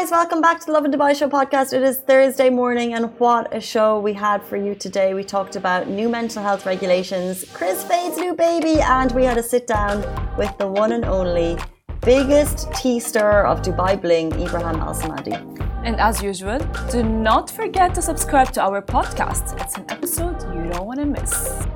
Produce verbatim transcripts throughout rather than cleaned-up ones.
guys, welcome back to the Love in Dubai Show podcast. It is Thursday morning and what a show we had for you today. We talked about new mental health regulations, Chris Fade's new baby, and we had a sit down with the one and only biggest tea stirrer of Dubai Bling, Ibrahim Al Samadi. And as usual, do not forget to subscribe to our podcast. It's an episode you don't want to miss.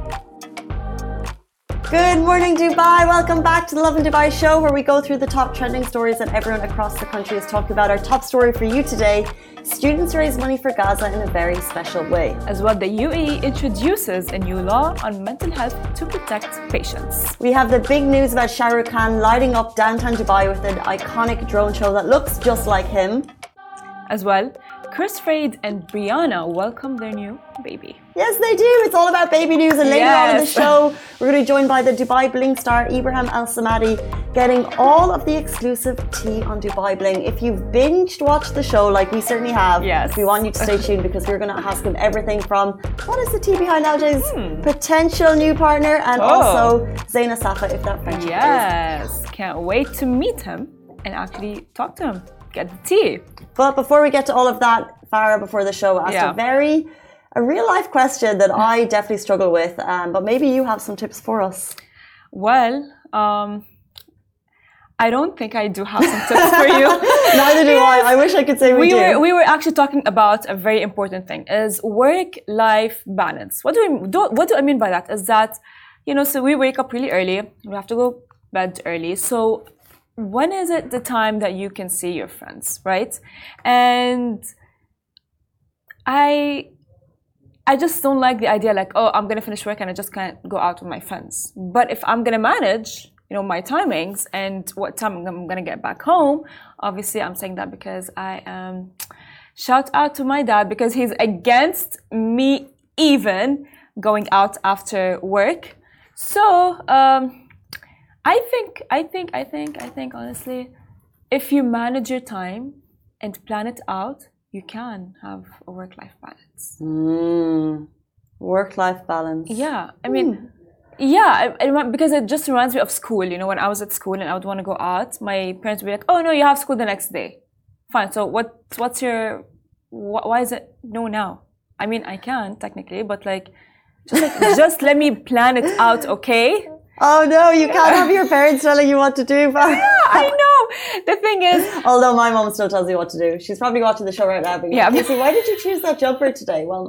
Good morning, Dubai. Welcome back to the Love in Dubai show, where we go through the top trending stories that everyone across the country is talking about. Our top story for you today: students raise money for Gaza in a very special way. As well, the U A E introduces a new law on mental health to protect patients. We have the big news about Shah Rukh Khan lighting up downtown Dubai with an iconic drone show that looks just like him. As well, Chris Fade and Brianna welcome their new baby. Yes, they do. It's all about baby news. And later yes. on in the show, we're going to be joined by the Dubai Bling star, Ibrahim Al Samadi, getting all of the exclusive tea on Dubai Bling. If you've binged watched the show, like we certainly have, yes. we want you to stay tuned because we're going to ask him everything from what is the tea behind L J's hmm. potential new partner, and oh. also Zaina Safa, if that friendship yes. is. Yes, can't wait to meet him and actually talk to him, get the tea. But before we get to all of that, Farah, before the show, asked yeah. a very, a real life question that I definitely struggle with, um, but maybe you have some tips for us. Well, um, I don't think I do have some tips for you. Neither do yes. I. I wish I could say we, we do. Were, we were actually talking about a very important thing, is work-life balance. What do, we, do, what do I mean by that? Is that, you know, so we wake up really early, we have to go bed early. So when is it the time that you can see your friends, right? And I I just don't like the idea like, oh, I'm going to finish work and I just can't go out with my friends. But if I'm going to manage, you know, my timings and what time I'm going to get back home, obviously I'm saying that because I am, shout out to my dad because he's against me even going out after work. So, um, I think, I think, I think, I think, honestly, if you manage your time and plan it out, you can have a work-life balance. Mm, work-life balance. Yeah, I mean, mm. yeah, I, I, because it just reminds me of school. You know, when I was at school and I would want to go out, my parents would be like, "Oh no, you have school the next day." Fine. So what? What's your? Wh why is it no now? I mean, I can technically, but like, just like, just let me plan it out, okay? Oh no, you can't have your parents telling you what to do. Yeah, I know. The thing is, although my mom still tells you what to do. She's probably watching the show right now. But yeah, Casey, why did you choose that jumper today? Well,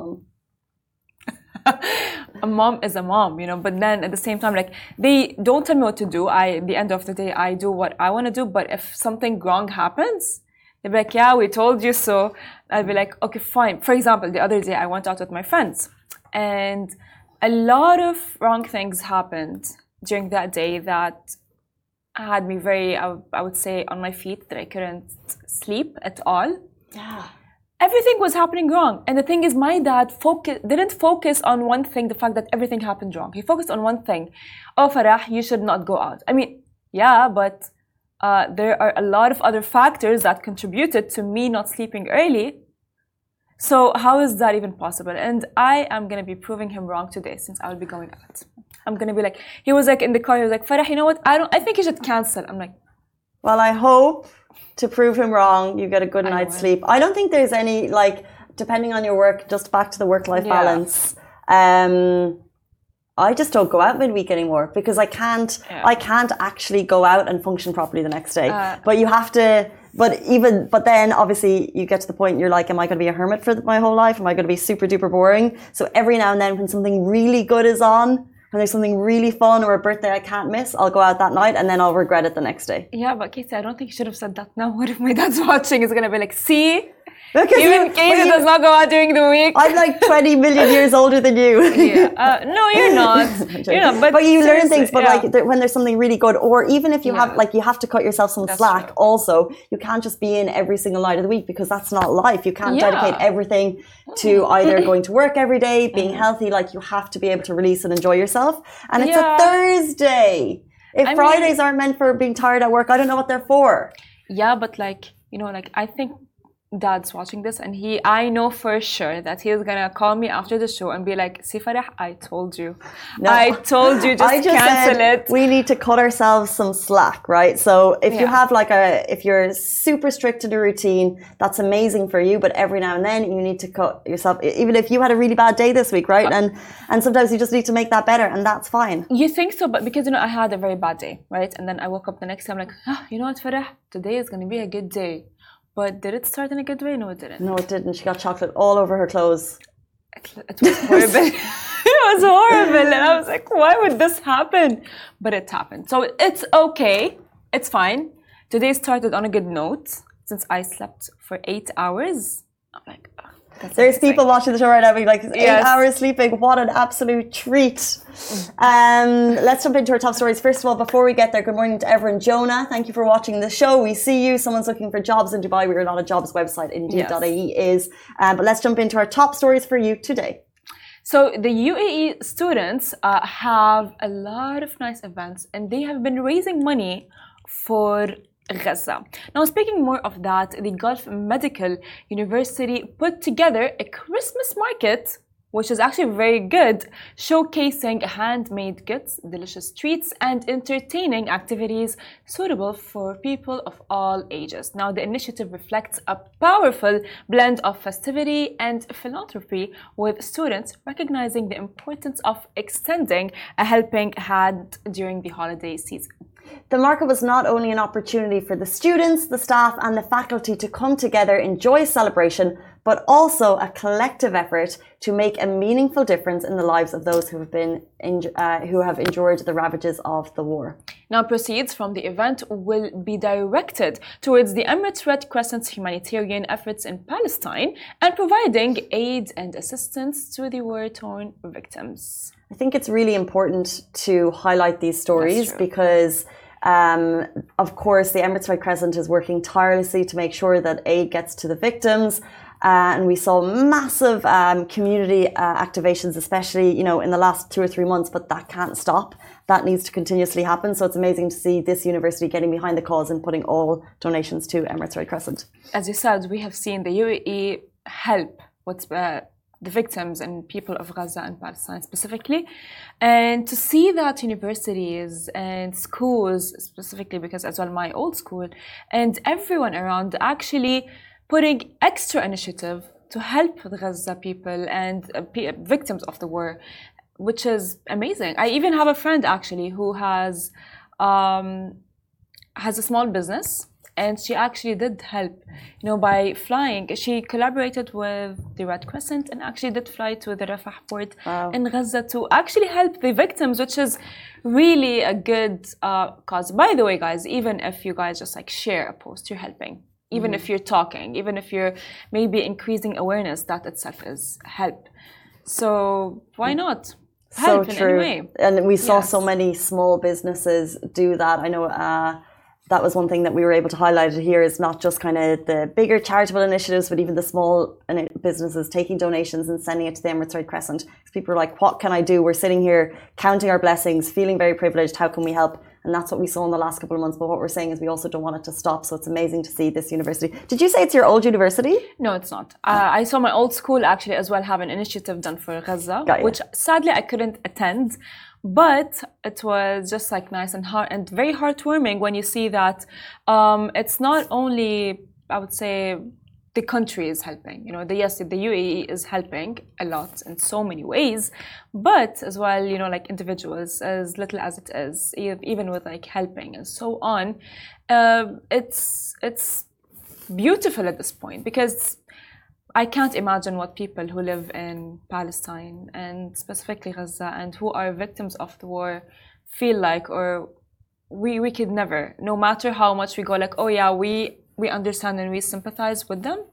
mom. A mom is a mom, you know. But then at the same time, like they don't tell me what to do. I, at the end of the day, I do what I want to do. But if something wrong happens, they'll be like, "Yeah, we told you so." I'll be like, "Okay, fine." For example, the other day I went out with my friends, and a lot of wrong things happened during that day that had me very, I, I would say, on my feet, that I couldn't sleep at all. Yeah. Everything was happening wrong. And the thing is, my dad focus, didn't focus on one thing, the fact that everything happened wrong. He focused on one thing. Oh, Farah, you should not go out. I mean, yeah, but uh, there are a lot of other factors that contributed to me not sleeping early. So how is that even possible? And I am going to be proving him wrong today, since I will be going out. I'm going to be like, he was like in the car, he was like, Farah, you know what? I don't, I think you should cancel. I'm like, well, I hope to prove him wrong, you get a good night's sleep. I don't think there's any, like, depending on your work, just back to the work-life yeah. balance. Um, I just don't go out midweek anymore because I can't, yeah. I can't actually go out and function properly the next day. Uh, but you have to, but even, but then obviously you get to the point you're like, am I going to be a hermit for my whole life? Am I going to be super duper boring? So every now and then when something really good is on, and there's something really fun or a birthday I can't miss, I'll go out that night and then I'll regret it the next day. Yeah, but Casey, I don't think you should have said that now. What if my dad's watching? He's going to be like, see? Because even you, Casey you, does not go out during the week. I'm like twenty million years older than you. Yeah. Uh, no, you're not. You're not. But, but you learn things. But yeah. like there, when there's something really good, or even if you yeah. have like you have to cut yourself some that's slack. True. Also, you can't just be in every single night of the week because that's not life. You can't yeah. dedicate everything to either going to work every day, being healthy. Like you have to be able to release and enjoy yourself. And it's yeah. a Thursday. If I Fridays mean, aren't meant for being tired at work, I don't know what they're for. Yeah, but like you know, like I think. dad's watching this, and he, I know for sure that he is gonna call me after the show and be like, "See, Farah, I told you, no. I told you, just, I just cancel said it." We need to cut ourselves some slack, right? So if yeah. you have like a, if you're super strict in a routine, that's amazing for you. But every now and then, you need to cut yourself. Even if you had a really bad day this week, right? And and sometimes you just need to make that better, and that's fine. You think so, but because you know I had a very bad day, right? And then I woke up the next day, I'm like, ah, you know what, Farah, today is gonna be a good day. But did it start in a good way? No, it didn't. No, it didn't. She got chocolate all over her clothes. It, it was horrible. It was horrible. And I was like, why would this happen? But it happened. So it's okay. It's fine. Today started on a good note. Since I slept for eight hours, I'm like, oh, that's There's amazing. people watching the show right now being like, eight yes. hours sleeping. What an absolute treat. Um, let's jump into our top stories. First of all, before we get there, good morning to everyone. Jonah, thank you for watching the show. We see you. Someone's looking for jobs in Dubai. We're not a jobs website. Indeed dot I E yes. is. Um, but let's jump into our top stories for you today. So the U A E students uh, have a lot of nice events, and they have been raising money for Gaza. Now, speaking more of that, the Gulf Medical University put together a Christmas market, which is actually very good, showcasing handmade goods, delicious treats, and entertaining activities suitable for people of all ages. Now, the initiative reflects a powerful blend of festivity and philanthropy, with students recognizing the importance of extending a helping hand during the holiday season. The market was not only an opportunity for the students, the staff, and the faculty to come together in joyous celebration, but also a collective effort to make a meaningful difference in the lives of those who have been uh, who have endured the ravages of the war. Now, proceeds from the event will be directed towards the Emirates Red Crescent's humanitarian efforts in Palestine and providing aid and assistance to the war-torn victims. I think it's really important to highlight these stories because, um, of course, the Emirates Red Crescent is working tirelessly to make sure that aid gets to the victims. Uh, and we saw massive um, community uh, activations, especially, you know, in the last two or three months, but that can't stop. That needs to continuously happen. So it's amazing to see this university getting behind the cause and putting all donations to Emirates Red Crescent. As you said, we have seen the U A E help what's uh, the victims and people of Gaza and Palestine specifically. And to see that universities and schools specifically, because as well my old school and everyone around actually putting extra initiative to help the Gaza people and uh, victims of the war, which is amazing. I even have a friend actually who has um, has a small business, and she actually did help, you know, by flying. She collaborated with the Red Crescent and actually did fly to the Rafah port wow. in Gaza to actually help the victims, which is really a good uh, cause. By the way, guys, even if you guys just like share a post, you're helping. Even mm. if you're talking, even if you're maybe increasing awareness, that itself is help. So why not help so in true. any way? And we saw yes. so many small businesses do that. I know uh, that was one thing that we were able to highlight here is not just kind of the bigger charitable initiatives, but even the small businesses taking donations and sending it to the Emirates Red Crescent. Because people are like, what can I do? We're sitting here counting our blessings, feeling very privileged. How can we help? And that's what we saw in the last couple of months. But what we're saying is we also don't want it to stop. So it's amazing to see this university. Did you say it's your old university? No, it's not. Uh, I saw my old school actually as well have an initiative done for Gaza, which sadly I couldn't attend. But it was just like nice and heart and very heartwarming when you see that um, it's not only, I would say, the country is helping. You know, the yes, the U A E is helping a lot in so many ways, but as well, you know, like individuals, as little as it is, even with like helping and so on, uh, it's it's beautiful at this point because I can't imagine what people who live in Palestine and specifically Gaza and who are victims of the war feel like, or we we could never, no matter how much we go like, oh yeah, we we understand and we sympathize with them,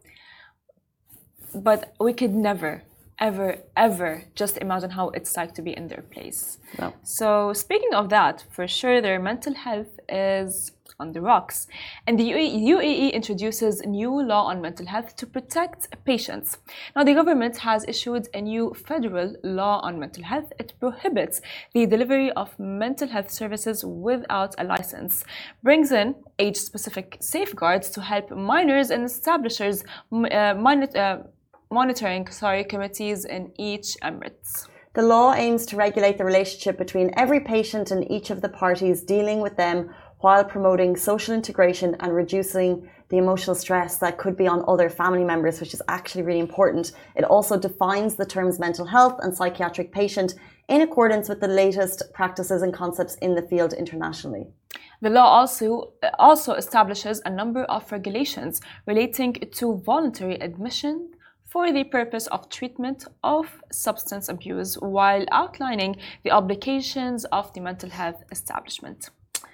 but we could never, ever, ever just imagine how it's like to be in their place. No. So speaking of that, for sure, their mental health is on the rocks. And the U A E introduces a new law on mental health to protect patients. Now, the government has issued a new federal law on mental health. It prohibits the delivery of mental health services without a license, brings in age-specific safeguards to help minors and establishers uh, monitor, uh, monitoring sorry, committees in each emirates. The law aims to regulate the relationship between every patient and each of the parties dealing with them while promoting social integration and reducing the emotional stress that could be on other family members, which is actually really important. It also defines the terms mental health and psychiatric patient in accordance with the latest practices and concepts in the field internationally. The law also, also establishes a number of regulations relating to voluntary admission for the purpose of treatment of substance abuse, while outlining the obligations of the mental health establishment.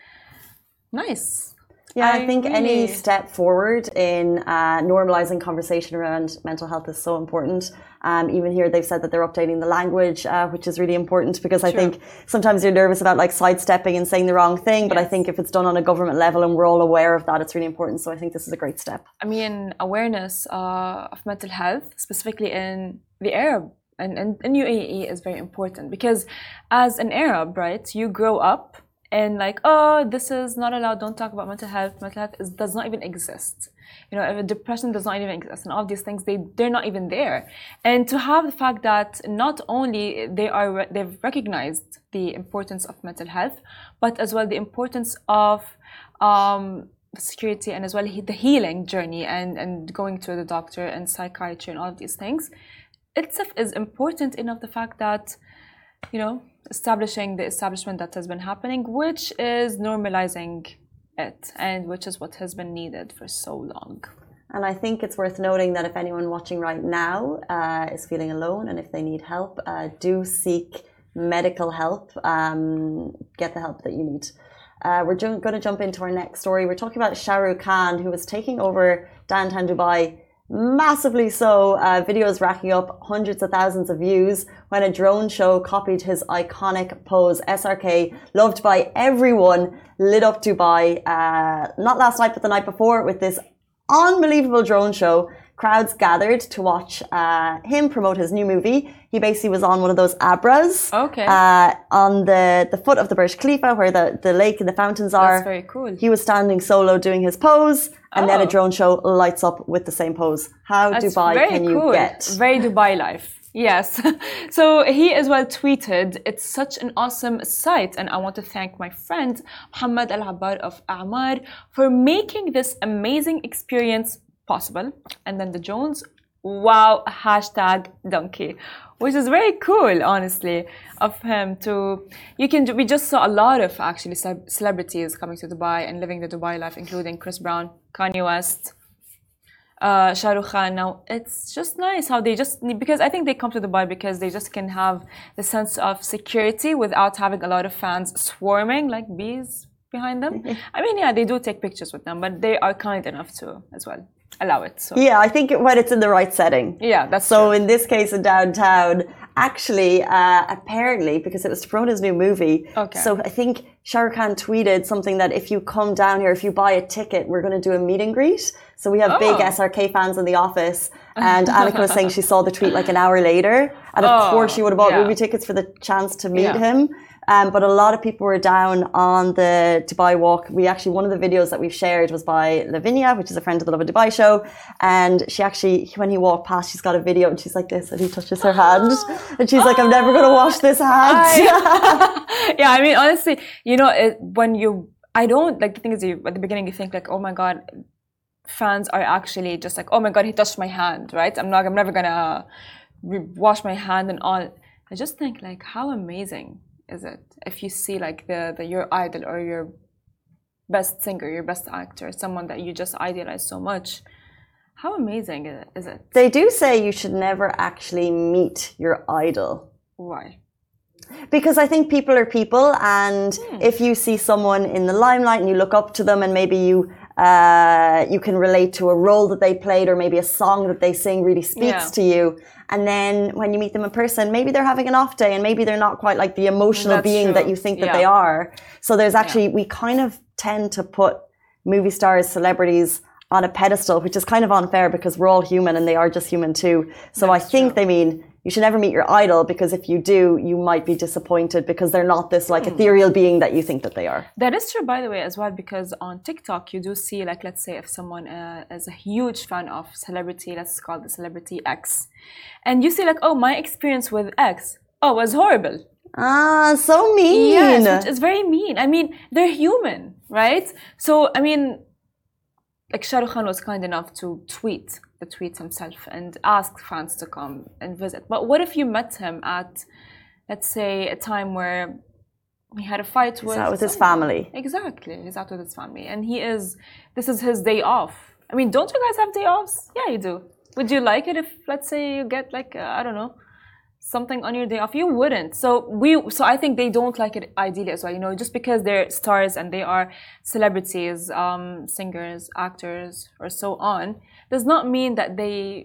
Nice. Yeah, I, I think really... any step forward in uh, normalizing conversation around mental health is so important. Um, even here, they've said that they're updating the language, uh, which is really important because True. I think sometimes you're nervous about like sidestepping and saying the wrong thing. But yes. I think if it's done on a government level and we're all aware of that, it's really important. So I think this is a great step. I mean, awareness uh, of mental health, specifically in the Arab and in U A E, is very important because as an Arab, right, you grow up and like, oh, this is not allowed, don't talk about mental health. Mental health is, does not even exist. You know, if depression does not even exist, and all these things, they, they're not even there. And to have the fact that not only they are, they've recognized the importance of mental health, but as well the importance of um, security and as well the healing journey and, and going to the doctor and psychiatry and all of these things, itself is important enough the fact that, you know, establishing the establishment that has been happening, which is normalizing it, and which is what has been needed for so long. And I think it's worth noting that if anyone watching right now uh, is feeling alone and if they need help, uh, do seek medical help, um, get the help that you need. Uh, we're going to jump into our next story. We're talking about Shah Rukh Khan, who was taking over downtown Dubai, massively so, uh, videos racking up hundreds of thousands of views when a drone show copied his iconic pose. S R K, loved by everyone, lit up Dubai, uh, not last night but the night before with this unbelievable drone show. Crowds gathered to watch uh, him promote his new movie. He basically was on one of those abras okay. uh, on the, the foot of the Burj Khalifa where the, the lake and the fountains are. That's very cool. He was standing solo doing his pose, and oh. then a drone show lights up with the same pose. How That's Dubai very can cool. you get? Very Dubai life. Yes. So he as well tweeted, "It's such an awesome sight, and I want to thank my friend Muhammad Al-Abbar of A'mar for making this amazing experience possible." And then the drones, wow, hashtag donkey, which is very cool, honestly, of him to, you can, we just saw a lot of actually celebrities coming to Dubai and living the Dubai life, including Chris Brown, Kanye West, uh, Shah Rukh Khan. Now, it's just nice how they just, because I think they come to Dubai because they just can have the sense of security without having a lot of fans swarming like bees behind them. I mean, yeah, they do take pictures with them, but they are kind enough to as well allow it. So. Yeah, I think when it's in the right setting. Yeah, that's so. True. In this case, in downtown, actually, uh, apparently, because it was to promote his new movie. Okay. So I think Shah Rukh Khan tweeted something that if you come down here, if you buy a ticket, we're going to do a meet and greet. So we have oh. big S R K fans in the office, and Annika was saying she saw the tweet like an hour later, and of oh, course she would have bought yeah. movie tickets for the chance to meet yeah. him. Um, but a lot of people were down on the Dubai walk. We actually, one of the videos that we've shared was by Lavinia, which is a friend of the Love of Dubai show. And she actually, when he walked past, she's got a video and she's like this, and he touches her hand. And she's like, I'm never going to wash this hand. I, yeah, I mean, honestly, you know, it, when you, I don't, like the thing is, you, at the beginning you think like, oh my God, fans are actually just like, oh my God, he touched my hand, right? I'm not, I'm never going to wash my hand and all. I just think like, how amazing is it if you see like the, the your idol or your best singer, your best actor, someone that you just idealize so much? How amazing is it? They do say you should never actually meet your idol. Why? Because I think people are people, and hmm. if you see someone in the limelight and you look up to them and maybe you uh, you can relate to a role that they played or maybe a song that they sing really speaks yeah. to you, and then when you meet them in person, maybe they're having an off day and maybe they're not quite like the emotional That's being true. that you think that yeah. they are. So there's actually, yeah. we kind of tend to put movie stars, celebrities on a pedestal, which is kind of unfair because we're all human and they are just human too. So That's I think true. they mean you should never meet your idol, because if you do, you might be disappointed because they're not this like ethereal being that you think that they are. That is true, by the way, as well, because on TikTok, you do see, like, let's say if someone uh, is a huge fan of celebrity, let's call the celebrity X, and you see like, oh, my experience with X, oh, was horrible. Ah, so mean. Yes, which is very mean. I mean, they're human, right? So, I mean, like Shah Rukh Khan was kind enough to tweet the tweet himself and ask fans to come and visit. But what if you met him at, let's say, a time where he had a fight He's with... out with his family. Exactly. He's out with his family. And he is... This is his day off. I mean, don't you guys have day offs? Yeah, you do. Would you like it if, let's say, you get like, uh, I don't know, something on your day off? You wouldn't. So we, so I think they don't like it ideally as well. You know, just because they're stars and they are celebrities, um, singers, actors, or so on, does not mean that they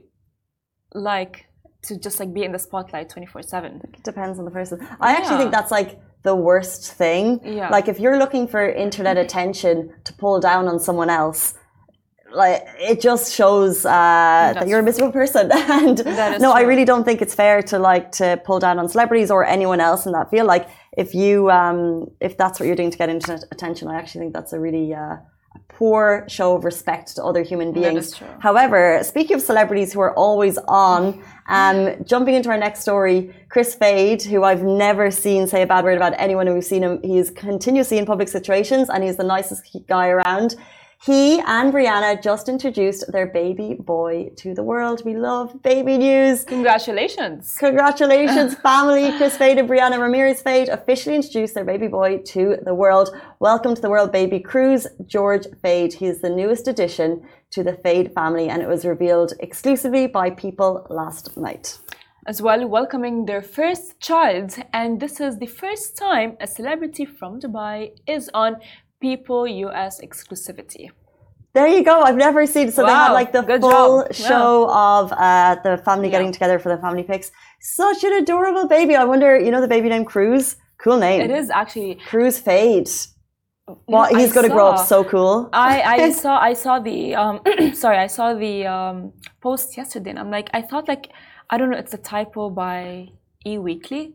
like to just like be in the spotlight twenty-four seven. It depends on the person. I yeah. actually think that's like the worst thing. Yeah. Like if you're looking for internet attention to pull down on someone else, like it just shows uh, that you're a miserable person. And no, true. I really don't think it's fair to like to pull down on celebrities or anyone else in that field. Like if you, um, if that's what you're doing to get internet attention, I actually think that's a really uh, poor show of respect to other human beings. However, speaking of celebrities who are always on, um, jumping into our next story, Chris Fade, who I've never seen say a bad word about anyone who's seen him. He's continuously in public situations and he's the nicest guy around. He and Brianna just introduced their baby boy to the world. We love baby news. Congratulations. Congratulations, family. Chris Fade and Brianna Ramirez Fade officially introduced their baby boy to the world. Welcome to the world, baby Cruz George Fade. He is the newest addition to the Fade family, and it was revealed exclusively by People last night. As well, welcoming their first child. And this is the first time a celebrity from Dubai is on People U S exclusivity. There you go. I've never seen. So wow, they had like the full job. show yeah. of uh, the family yeah. getting together for the family pics. Such an adorable baby. I wonder, you know, the baby name Cruz. Cool name. It is actually Cruz Fade. Well, he's going to grow up so cool. I, I saw I saw the um sorry I saw the um post yesterday, and I'm like, I thought like I don't know, it's a typo by E Weekly.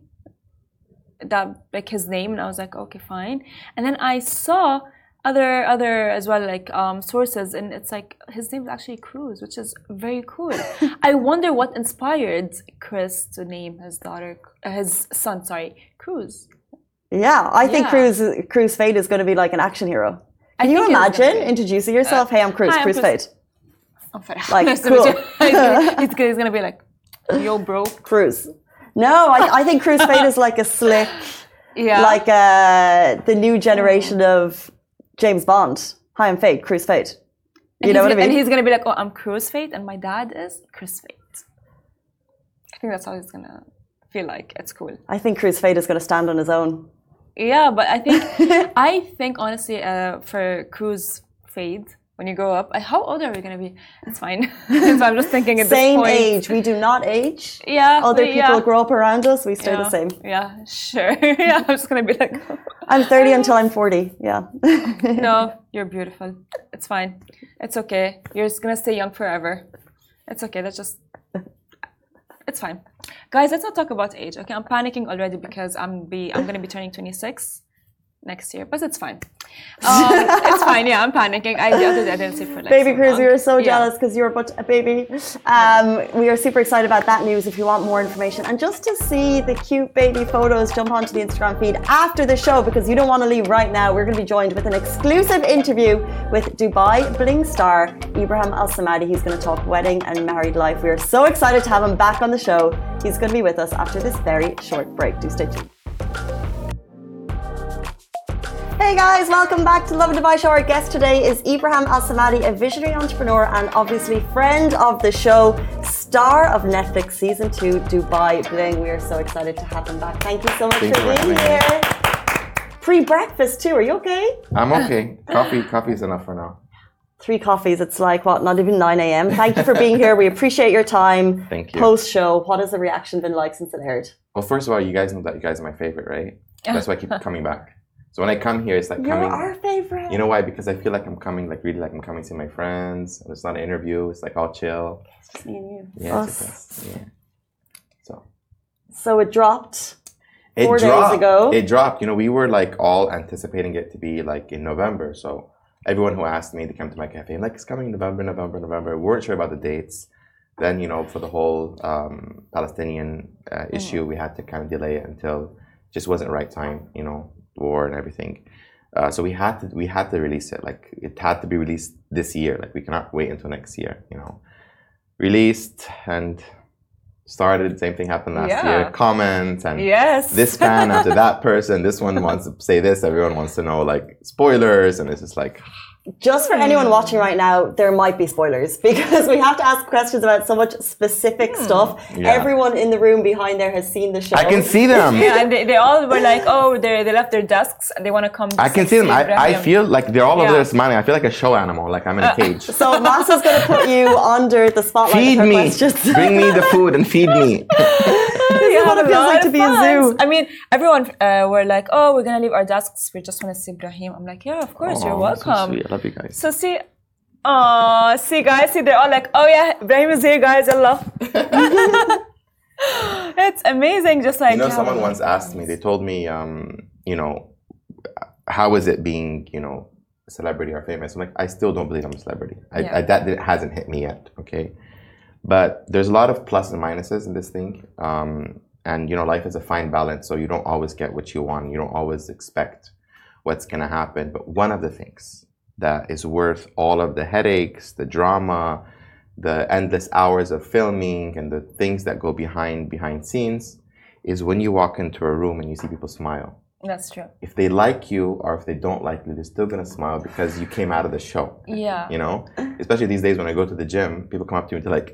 That like his name, and I was like, okay, fine. And then I saw other other as well like um sources, and it's like his name is actually Cruz, which is very cool. I wonder what inspired Chris to name his daughter, uh, his son, sorry, Cruz. Yeah, I think yeah. Cruz Cruz Fade is going to be like an action hero. Can I you imagine introducing yourself? Uh, hey, I'm Cruz. Hi, I'm Cruz Fade. I'm Fade. Like cool. he's, gonna, he's gonna be like, yo, bro, Cruz. No, I, I think Cruz Fade is like a slick, yeah, like uh, the new generation of James Bond. Hi, I'm Fade, Cruz Fade. You and know what I mean? And he's going to be like, oh, I'm Cruz Fade, and my dad is Chris Fade. I think that's how he's going to feel like. It's cool. I think Cruz Fade is going to stand on his own. Yeah, but I think, I think honestly, uh, for Cruz Fade, when you grow up, how old are we going to be? It's fine. So I'm just thinking at same this point. Same age. We do not age. Yeah. Other we, people yeah. grow up around us. We stay yeah. the same. Yeah, sure. Yeah, I'm just going to be like... I'm thirty until I'm forty. Yeah. No, you're beautiful. It's fine. It's okay. You're just going to stay young forever. It's okay. That's just... It's fine. Guys, let's not talk about age. Okay, I'm panicking already because I'm be I'm going to be turning twenty-six next year, but it's fine. Um, it's fine. Yeah, I'm panicking. I the other day I didn't sleep for like baby so Cruz, long. we are so yeah. jealous because you're but a baby. Um, we are super excited about that news. If you want more information and just to see the cute baby photos, jump onto the Instagram feed after the show because you don't want to leave right now. We're going to be joined with an exclusive interview with Dubai bling star Ibrahim Al Samadi. He's going to talk wedding and married life. We are so excited to have him back on the show. He's going to be with us after this very short break. Do stay tuned. Hey guys, welcome back to Lovin Dubai Show. Our guest today is Ibrahim Al Samadi, a visionary entrepreneur and obviously friend of the show, star of Netflix season two, Dubai Bling. We are so excited to have him back. Thank you so much Thanks for being here. Pre-breakfast too, are you okay? I'm okay. Coffee, coffee is enough for now. Three coffees, it's like what, not even nine a.m. Thank you for being here. We appreciate your time. Thank you. Post-show, what has the reaction been like since it aired? Well, first of all, you guys know that you guys are my favorite, right? That's why I keep coming back. So when I come here, it's like You're coming. our favorite. You know why? Because I feel like I'm coming, like really, like I'm coming to see my friends. It's not an interview. It's like all chill. It's just me and you. Yeah. Us. It's just, yeah. So. So it dropped. It Four dropped. days ago. It dropped. You know, we were like all anticipating it to be like in November. So everyone who asked me to come to my cafe, I'm like, it's coming in November, November, November. We weren't sure about the dates. Then, you know, for the whole um, Palestinian uh, issue, mm-hmm. we had to kind of delay it until it just wasn't the right time, you know, war and everything. Uh, so we had to we had to release it. Like it had to be released this year. Like we cannot wait until next year, you know. Released and started. Same thing happened last yeah. year. Comments and yes. this fan after that person. This one wants to say this. Everyone wants to know like spoilers, and it's just like. Just for anyone watching right now, there might be spoilers because we have to ask questions about so much specific mm. stuff. Yeah. Everyone in the room behind there has seen the show. I can see them. Yeah, and they, they all were like, oh, they they left their desks and they want to come. I can see them. I, I feel like they're all yeah. over there smiling. I feel like a show animal, like I'm in a cage. So Masa's going to put you under the spotlight. Feed with her me. Questions. Bring me the food and feed me. This is what it feels like to be a zoo. I mean, everyone uh, were like, oh, we're going to leave our desks. We just want to see Brahim. I'm like, yeah, of course, oh, you're welcome. So sweet. I love you guys. So see, oh, see guys, see they're all like, oh yeah, Brahim is here, guys, Allah. It's amazing, just like. You know, yeah, someone once asked me, they told me, um, you know, how is it being, you know, a celebrity or famous? I'm like, I still don't believe I'm a celebrity. I, yeah. I, that hasn't hit me yet, okay? But there's a lot of plus and minuses in this thing. Um, and, you know, life is a fine balance, so you don't always get what you want. You don't always expect what's going to happen. But one of the things that is worth all of the headaches, the drama, the endless hours of filming, and the things that go behind behind scenes is when you walk into a room and you see people smile. That's true. If they like you or if they don't like you, they're still going to smile because you came out of the show. Yeah. You know? Especially these days when I go to the gym, people come up to me and they're like,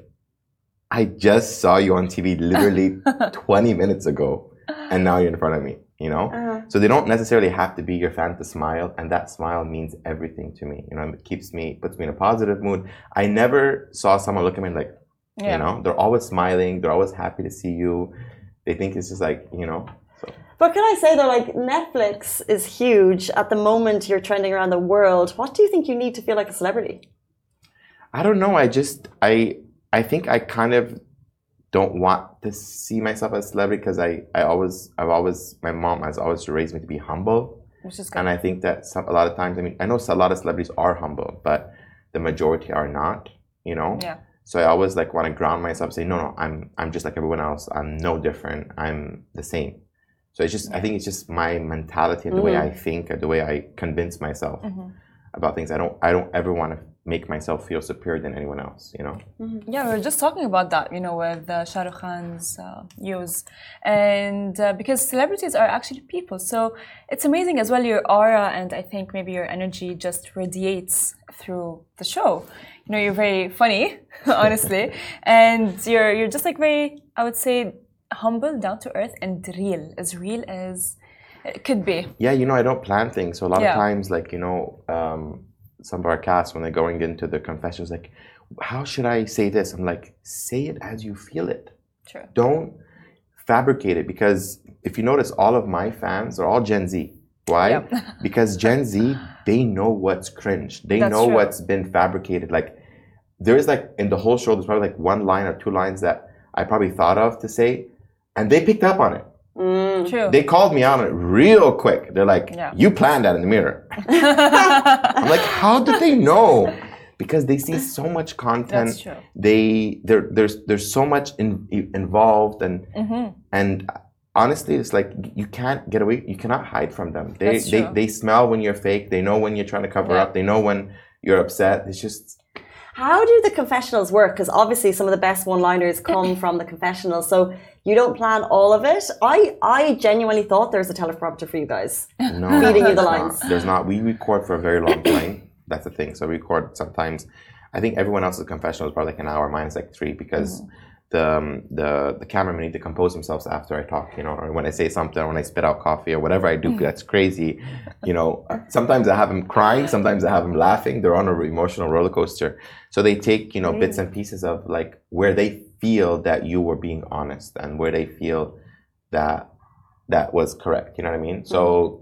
I just saw you on T V literally twenty minutes ago and now you're in front of me, you know? Uh-huh. So they don't necessarily have to be your fan to smile, and that smile means everything to me. You know, it keeps me, puts me in a positive mood. I never saw someone look at me like, yeah. you know, they're always smiling, they're always happy to see you. They think it's just like, you know. So. But can I say though, like Netflix is huge. At the moment you're trending around the world. What do you think you need to feel like a celebrity? I don't know. I just, I, I think I kind of don't want to see myself as a celebrity because I, I always, I've always, my mom has always raised me to be humble. Which is good. And I think that some, a lot of times, I mean, I know a lot of celebrities are humble, but the majority are not, you know? Yeah. So I always like want to ground myself, say, no, no, I'm, I'm just like everyone else. I'm no different. I'm the same. So it's just, yeah. I think it's just my mentality and the mm-hmm. way I think and the way I convince myself mm-hmm. about things. I don't, I don't ever want to make myself feel superior than anyone else, you know? Mm-hmm. Yeah, we were just talking about that, you know, with uh, Shah Rukh Khan's uh, news. And uh, because celebrities are actually people. So it's amazing as well, your aura and I think maybe your energy just radiates through the show. You know, you're very funny, honestly. And you're you're just like very, I would say, humble, down to earth, and real. As real as it could be. Yeah, you know, I don't plan things. So a lot yeah. of times, like, you know, um, some of our cast, when they're going into the confessions, like, how should I say this? I'm like, say it as you feel it. True. Don't fabricate it, because if you notice, all of my fans are all Gen Z. Why? Yep. Because Gen Z, they know what's cringe. They That's know true. what's been fabricated. Like, there is like, in the whole show, there's probably like one line or two lines that I probably thought of to say, and they picked up on it. Mm. True. They called me out on it real quick. They're like, yeah. you planned that in the mirror. I'm like, how did they know? Because they see so much content. That's true. They there there's there's so much in, involved and mm-hmm. and honestly, it's like you can't get away. You cannot hide from them. They That's they true. they smell when you're fake. They know when you're trying to cover yeah. up. They know when you're upset. It's just. How do the confessionals work? Because obviously some of the best one-liners come from the confessionals. So you don't plan all of it. I, I genuinely thought there was a teleprompter for you guys. No, feeding you the lines. Not. There's not. We record for a very long time. That's the thing. So we record sometimes. I think everyone else's confessional is probably like an hour. Mine's like three because mm-hmm. the um, the the cameramen need to compose themselves after I talk. You know, or when I say something, or when I spit out coffee, or whatever I do. That's crazy. You know, sometimes I have them crying. Sometimes I have them laughing. They're on an emotional roller coaster. So they take, you know, bits and pieces of like where they feel that you were being honest and where they feel that that was correct. You know what I mean? So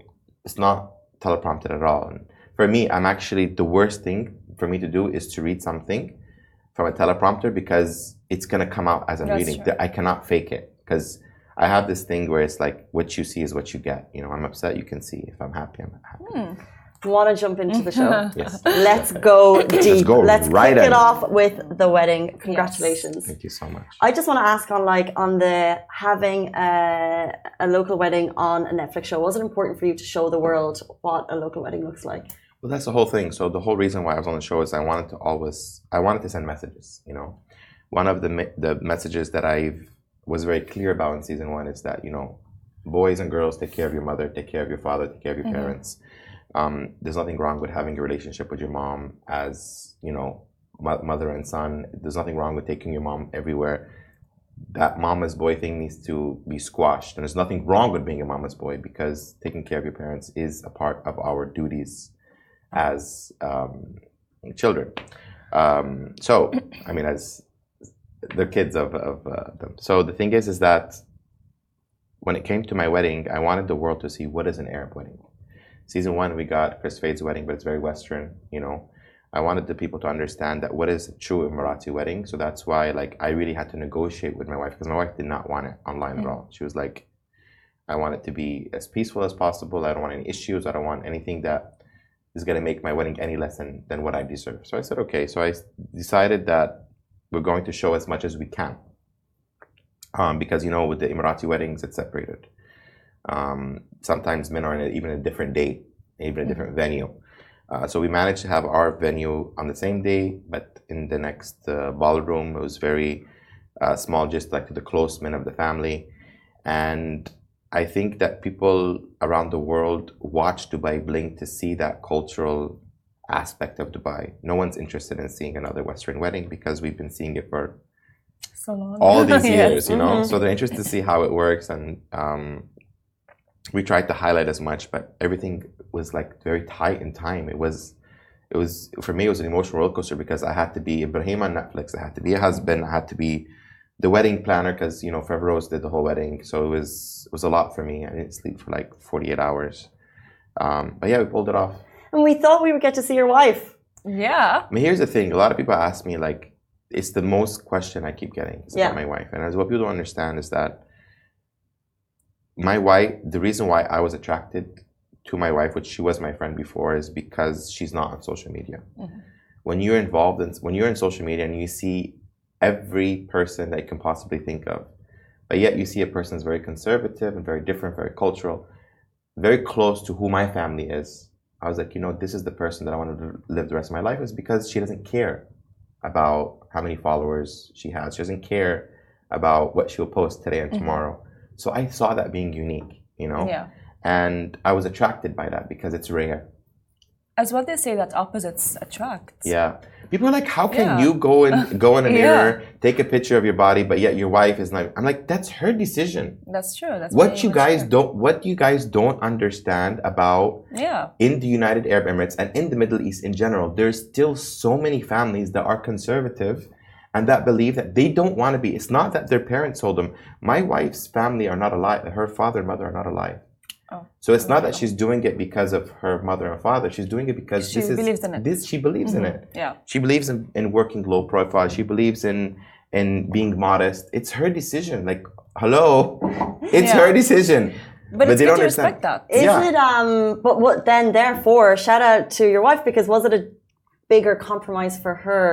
it's not teleprompted at all. And for me, I'm actually, the worst thing for me to do is to read something from a teleprompter because it's going to come out as I'm That's reading. true. I cannot fake it because I have this thing where it's like what you see is what you get. You know, I'm upset, you can see. If I'm happy, I'm happy. Hmm. Want to jump into the show? Yes. Let's go deep. go Let's right kick in. it off with the wedding. Congratulations. Thank you so much. I just want to ask on like on the having a, a local wedding on a Netflix show. Was it important for you to show the world what a local wedding looks like? Well, that's the whole thing. So the whole reason why I was on the show is I wanted to always, I wanted to send messages. You know, one of the me- the messages that I was very clear about in season one is that, you know, boys and girls, take care of your mother, take care of your father, take care of your Mm-hmm. parents. Um, there's nothing wrong with having a relationship with your mom as, you know, mo- mother and son. There's nothing wrong with taking your mom everywhere. That mama's boy thing needs to be squashed. And there's nothing wrong with being a mama's boy because taking care of your parents is a part of our duties as um, children. Um, so, I mean, as the kids of, of uh, them. So the thing is, is that when it came to my wedding, I wanted the world to see what is an Arab wedding. Season one, we got Chris Fade's wedding, but it's very Western, you know. I wanted the people to understand that what is a true Emirati wedding. So that's why, like, I really had to negotiate with my wife because my wife did not want it online mm-hmm. at all. She was like, I want it to be as peaceful as possible. I don't want any issues. I don't want anything that is going to make my wedding any less than, than what I deserve. So I said, okay. So I decided that we're going to show as much as we can. Um, because, you know, with the Emirati weddings, it's separated. Um, sometimes men are in a, even a different day, even a different venue. Uh, so we managed to have our venue on the same day, but in the next uh, ballroom, it was very uh, small, just like to the close men of the family. And I think that people around the world watch Dubai Bling to see that cultural aspect of Dubai. No one's interested in seeing another Western wedding because we've been seeing it for so long. all these years, Yes. you know? Mm-hmm. So they're interested to see how it works. And um, we tried to highlight as much, but everything was like very tight in time. It was, it was, for me, it was an emotional roller coaster because I had to be Ibrahim on Netflix. I had to be a husband. I had to be the wedding planner because, you know, Trevor Rose did the whole wedding. So it was, it was a lot for me. I didn't sleep for like forty-eight hours. Um, but yeah, we pulled it off. And we thought we would get to see your wife. Yeah. I mean, here's the thing. A lot of people ask me, like, it's the most question I keep getting is Yeah. about my wife. And as what people don't understand is that my wife, the reason why I was attracted to my wife, which she was my friend before, is because she's not on social media. Mm-hmm. When you're involved in, when you're in social media and you see every person that you can possibly think of, but yet you see a person that's very conservative and very different, very cultural, very close to who my family is. I was like, you know, this is the person that I want to live the rest of my life with because she doesn't care about how many followers she has. She doesn't care about what she'll post today and tomorrow. Mm-hmm. So I saw that being unique, you know? Yeah. And I was attracted by that because it's rare. As what they say that opposites attract. Yeah. People are like, how can Yeah. you go and go in a Yeah. mirror, take a picture of your body, but yet your wife is not? I'm like, that's her decision. That's true. That's What very you much guys true. don't, what you guys don't understand about Yeah. in the United Arab Emirates and in the Middle East in general, there's still so many families that are conservative and that believe that they don't want to be. It's not that their parents told them. My wife's family are not alive. Her father and mother are not alive. Oh. So it's not that she's doing it because of her mother and father. She's doing it because She this is believes in it. this she believes Mm-hmm. in it. Yeah. She believes in, in working low profile. She believes in in being modest. It's her decision. Like, hello, it's Yeah. her decision. But, it's they good don't to understand. respect that. Is Yeah. it um but what then therefore shout out to your wife because was it a bigger compromise for her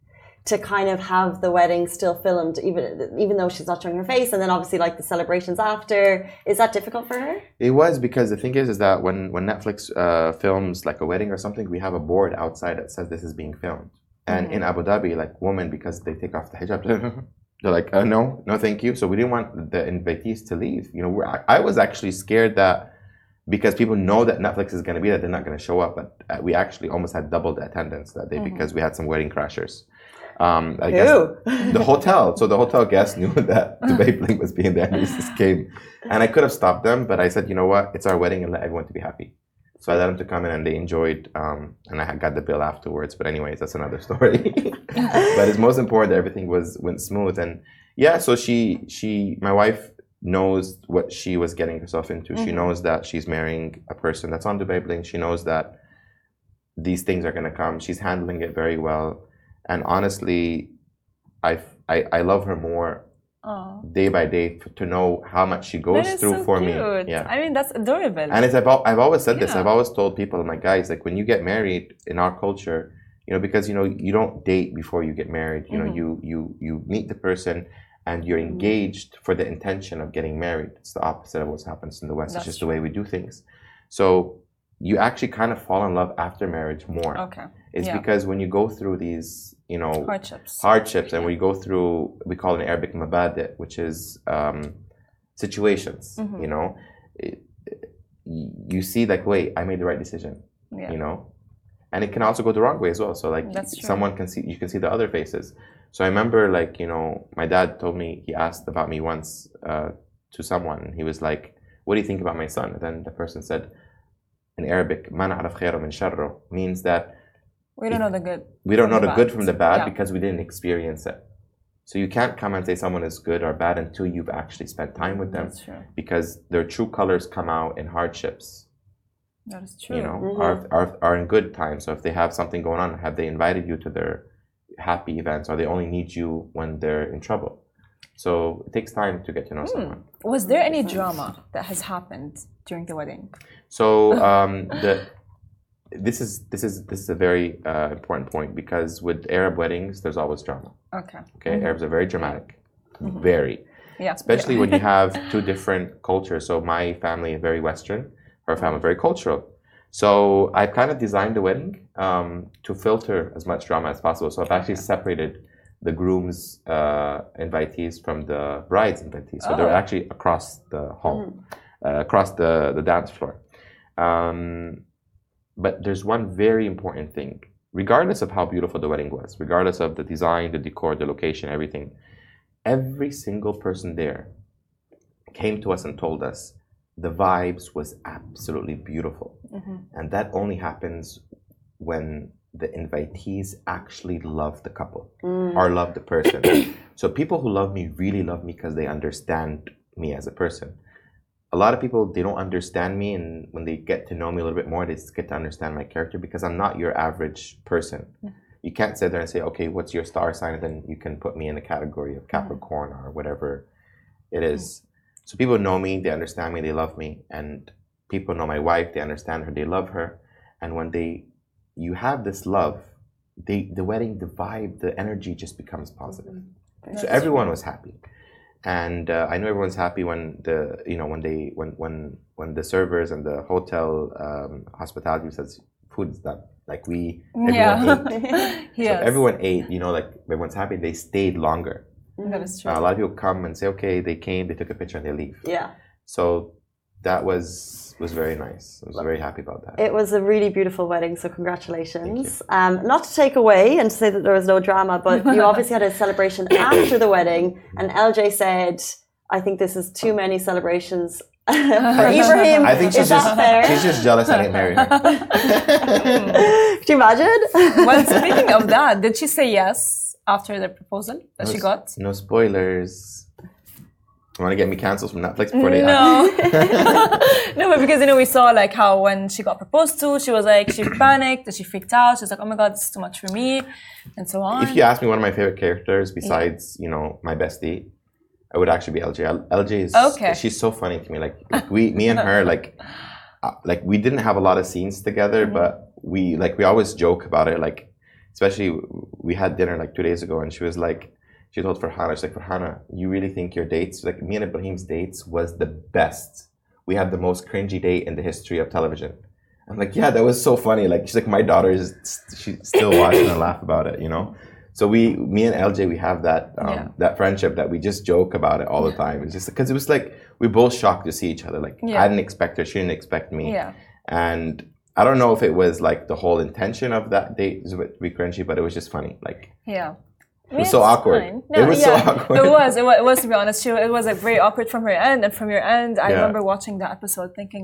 to kind of have the wedding still filmed even even though she's not showing her face and then obviously like the celebrations after? Is that difficult for her? It was because the thing is is that when when Netflix uh, films like a wedding or something, we have a board outside that says this is being filmed. And Mm-hmm. in Abu Dhabi, like women, because they take off the hijab, they're like, uh, no, no, thank you. So we didn't want the invitees to leave. You know, we're, I, I was actually scared that because people know that Netflix is going to be there, they're not going to show up. But uh, we actually almost had double the attendance that day Mm-hmm. because we had some wedding crashers. Um, I guess Ew. the hotel. So the hotel guests knew that Dubai Bling was being there. And they just came, and I could have stopped them, but I said, you know what? It's our wedding, and let everyone to be happy. So I let them to come in, and they enjoyed. Um, and I got the bill afterwards. But anyways, that's another story. But it's most important that everything was went smooth, and yeah. So she, she, my wife knows what she was getting herself into. Mm-hmm. She knows that she's marrying a person that's on Dubai Bling. She knows that these things are going to come. She's handling it very well. And honestly, I, I, I love her more Aww. Day by day to know how much she goes through so for cute. Me. Yeah. I mean, that's adorable. And it's I've, I've always said yeah. this. I've always told people, I'm like, guys, like when you get married in our culture, you know, because, you know, you don't date before you get married. You mm-hmm. know, you, you, you meet the person and you're engaged for the intention of getting married. It's the opposite of what happens in the West. That's it's just true. The way we do things. So you actually kind of fall in love after marriage more. Okay. It's yeah. because when you go through these, you know, hardships, hardships, and we go through, we call it in Arabic mabadi', which is um, situations. Mm-hmm. You know, it, you see like, wait, I made the right decision. Yeah. You know, and it can also go the wrong way as well. So like, someone can see, you can see the other faces. So I remember, like, you know, my dad told me, he asked about me once uh, to someone. He was like, what do you think about my son? And then the person said, in Arabic, "Ma na'raf khayra min sharro," means that we don't know the good. We don't know the good from the bad yeah. because we didn't experience it. So you can't come and say someone is good or bad until you've actually spent time with them. That's true. Because their true colors come out in hardships. That is true. You know, mm-hmm. are, are are in good times. So if they have something going on, have they invited you to their happy events, or they only need you when they're in trouble? So it takes time to get to know hmm. someone. Was there any drama that has happened during the wedding? So um, the this is this is this is a very uh, important point, because with Arab weddings, there's always drama. Okay. Okay. Mm-hmm. Arabs are very dramatic, mm-hmm. very. Yeah. Especially yeah. when you have two different cultures. So my family is very Western, her family very cultural. So I've kind of designed the wedding um, to filter as much drama as possible. So I've actually separated the groom's uh, invitees from the bride's invitees. So oh. they're actually across the hall, mm. uh, across the, the dance floor. Um, but there's one very important thing. Regardless of how beautiful the wedding was, regardless of the design, the decor, the location, everything, every single person there came to us and told us the vibes was absolutely beautiful. Mm-hmm. And that only happens when the invitees actually love the couple mm. or love the person. So people who love me really love me because they understand me as a person. A lot of people, they don't understand me, and when they get to know me a little bit more, they just get to understand my character, because I'm not your average person. Mm. You can't sit there and say, okay, what's your star sign? And then you can put me in a category of Capricorn mm. or whatever it is. Mm. So people know me, they understand me, they love me. And people know my wife, they understand her, they love her. And when they, you have this love, they, the wedding, the vibe, the energy just becomes positive. Mm-hmm. So everyone was happy. And uh, I know everyone's happy when the, you know, when they, when, when, when the servers and the hotel um, hospitality says food's done. Like we, everyone yeah. ate. Yes. So everyone ate, you know, like everyone's happy, they stayed longer. That is true. Uh, a lot of people come and say, okay, they came, they took a picture and they leave. Yeah. So that was was very nice. I was very happy about that. It was a really beautiful wedding, so congratulations. Um, not to take away and to say that there was no drama, but you obviously had a celebration after the wedding, and L J said, I think this is too many celebrations for Ibrahim. I think she's just, she's just jealous I didn't marry her. Could you imagine? Well, speaking of that, did she say yes after the proposal that no, she got? No spoilers. You want to get me cancelled from Netflix before they No. No, but because, you know, we saw like how when she got proposed to, she was like, she panicked and she freaked out. She was like, oh my God, this is too much for me, and so on. If you ask me one of my favorite characters besides, yeah. you know, my bestie, I would actually be L J. L J is, okay. she's so funny to me. Like, like we, me and her, like, uh, like we didn't have a lot of scenes together, mm-hmm. but we, like, we always joke about it. Like, especially we had dinner like two days ago, and she was like, she told Farhana, she's like, Farhana, you really think your dates, like me and Ibrahim's dates was the best. We had the most cringy date in the history of television. I'm like, yeah, that was so funny. Like, she's like, my daughter is, she still watching and laugh about it, you know? So we, me and L J, we have that, um, yeah. that friendship that we just joke about it all the time. It's just because it was like, we both shocked to see each other. Like, yeah. I didn't expect her, she didn't expect me. Yeah. And I don't know if it was like the whole intention of that date to be cringy, but it was just funny. Like, yeah. It was so awkward. No, it was yeah, so awkward. It was, it was. It was, to be honest. She, it was like very awkward from her end, and from your end, I yeah. remember watching that episode, thinking like,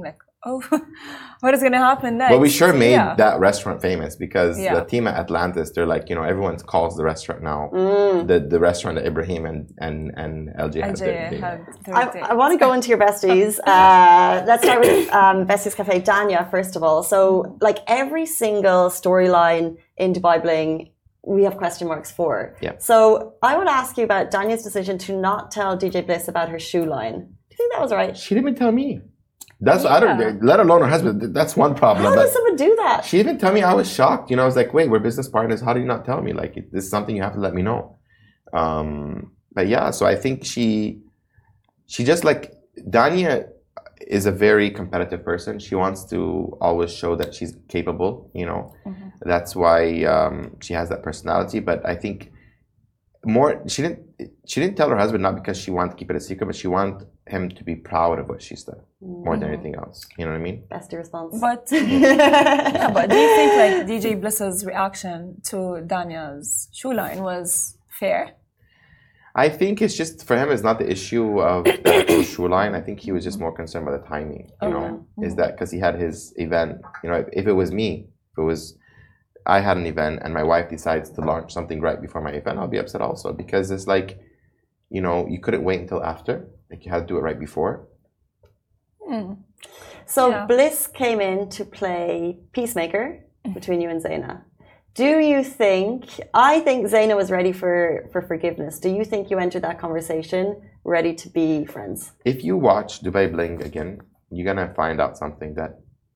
Oh, what is going to happen next? Well, we sure made yeah. that restaurant famous because Yeah. the team at Atlantis, they're like, you know, everyone calls the restaurant now Mm. the the restaurant that Ibrahim and and and L J had. L J their thing. had their I, date. I want to go into your besties. Uh, let's start with um, Besties Cafe. Dania, first of all. So, like every single storyline in Dubai Bling, we have question marks for. Yeah. So, I want to ask you about Dania's decision to not tell D J Bliss about her shoe line. Do you think that was right? She didn't even tell me. That's Yeah. I don't. Let alone her husband. That's one problem. How but does someone do that? she didn't tell me. I was shocked. You know, I was like, wait, we're business partners. How do you not tell me? Like, this is something you have to let me know. Um, but yeah, so I think she, she just like Dania is a very competitive person. She wants to always show that she's capable. You know, Mhm. that's why um, she has that personality. But I think more she didn't she didn't tell her husband not because she wanted to keep it a secret, but she wanted him to be proud of what she's done more than anything else. You know what I mean? Bestie response. But yeah, but do you think like D J Bliss's reaction to Dania's shoe line was fair? I think it's just for him. It's not the issue of the actual shoe line. I think he was just more concerned by the timing. You know, Okay. is that because he had his event? You know, if, if it was me, if it was I had an event and my wife decides to launch something right before my event, I'll be upset also because it's like, you know, you couldn't wait until after. Like you had to do it right before. Hmm. So, Yeah. Bliss came in to play peacemaker between you and Zaina. Do you think, I think Zaina was ready for, for forgiveness. Do you think you entered that conversation ready to be friends? If you watch Dubai Bling again, you're gonna find out something that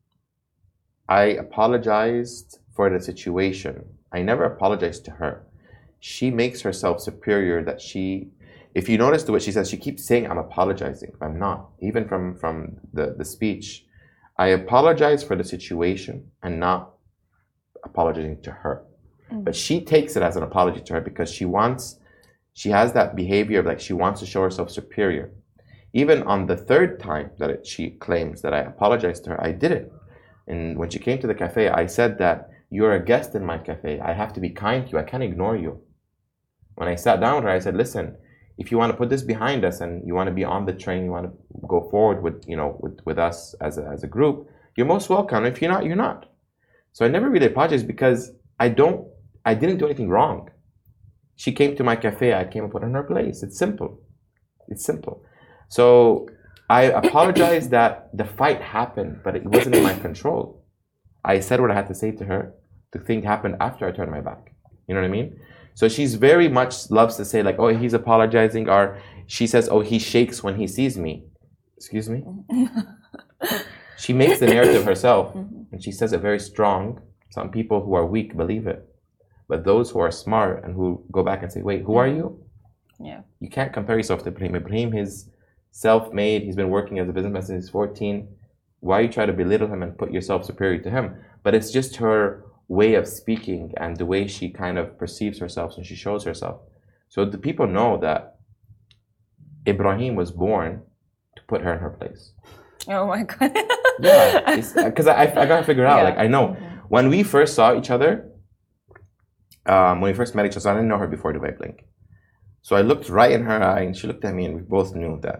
I apologized for the situation. I never apologized to her. She makes herself superior that she, if you notice the way she says, she keeps saying I'm apologizing. I'm not. Even from, from the, the speech, I apologize for the situation and not apologizing to her. Mm. But she takes it as an apology to her because she wants, she has that behavior of like she wants to show herself superior. Even on the third time that it, she claims that I apologized to her, I didn't. And when she came to the cafe, I said that you're a guest in my cafe. I have to be kind to you. I can't ignore you. When I sat down with her, I said, listen, if you want to put this behind us and you want to be on the train, you want to go forward with, you know, with, with us as a, as a group, you're most welcome. If you're not, you're not. So I never really apologized because I don't, I didn't do anything wrong. She came to my cafe. I came and put her in her place. It's simple. It's simple. So I apologize that the fight happened, but it wasn't in my control. I said what I had to say to her. The thing happened after I turned my back. You know what I mean? So she's very much loves to say like, oh, he's apologizing, or she says, oh, he shakes when he sees me. Excuse me? She makes the narrative herself, and she says it very strong. Some people who are weak believe it. But those who are smart and who go back and say, wait, who are you? Yeah. You can't compare yourself to Ibrahim. Ibrahim is self-made. He's been working as a businessman since he's fourteen. Why you try to belittle him and put yourself superior to him? But it's just her way of speaking and the way she kind of perceives herself and she shows herself. So the people know that Ibrahim was born to put her in her place. Oh my God. Yeah, because I, I, I gotta figure it out. Yeah. Like I know Mhm. when we first saw each other, um, when we first met each other, I didn't know her before Dubai Blink. So I looked right in her eye and she looked at me and we both knew that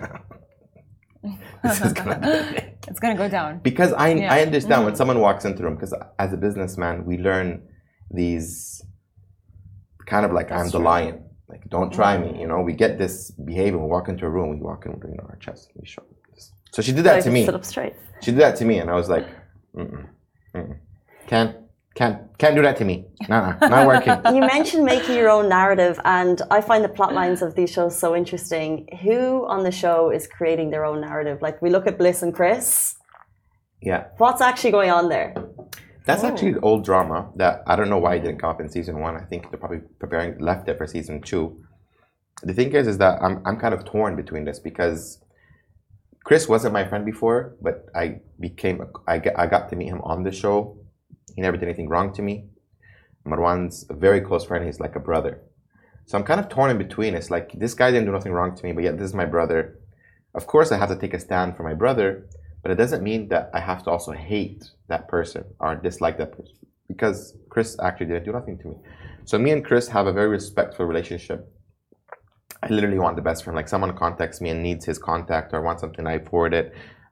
this is gonna be It's gonna go down. because I Yeah. I understand when Mhm. someone walks into the room, because as a businessman we learn these kind of like That's I'm the true. lion, like don't try me, you know. We get this behavior. We walk into a room, we walk in with, you know, our chest. We show this. So she did that So to I me. Sit up straight. She did that to me, and I was like, mm-mm, mm-mm. can't can't can't do that to me. Nah, not working. You mentioned making your own narrative, and I find the plot lines of these shows so interesting. Who on the show is creating their own narrative? Like we look at Bliss and Chris. Yeah. What's actually going on there? That's Oh. actually an old drama that I don't know why it didn't come up in season one. I think they're probably preparing left it for season two. The thing is, is that I'm I'm kind of torn between this because Chris wasn't my friend before, but I became I get, I got to meet him on the show. He never did anything wrong to me. Marwan's a very close friend. He's like a brother. So I'm kind of torn in between. It's like this guy didn't do nothing wrong to me, but yet this is my brother. Of course, I have to take a stand for my brother, but it doesn't mean that I have to also hate that person or dislike that person because Chris actually didn't do nothing to me. So me and Chris have a very respectful relationship. I literally want the best friend. Like someone contacts me and needs his contact or wants something, I forward it.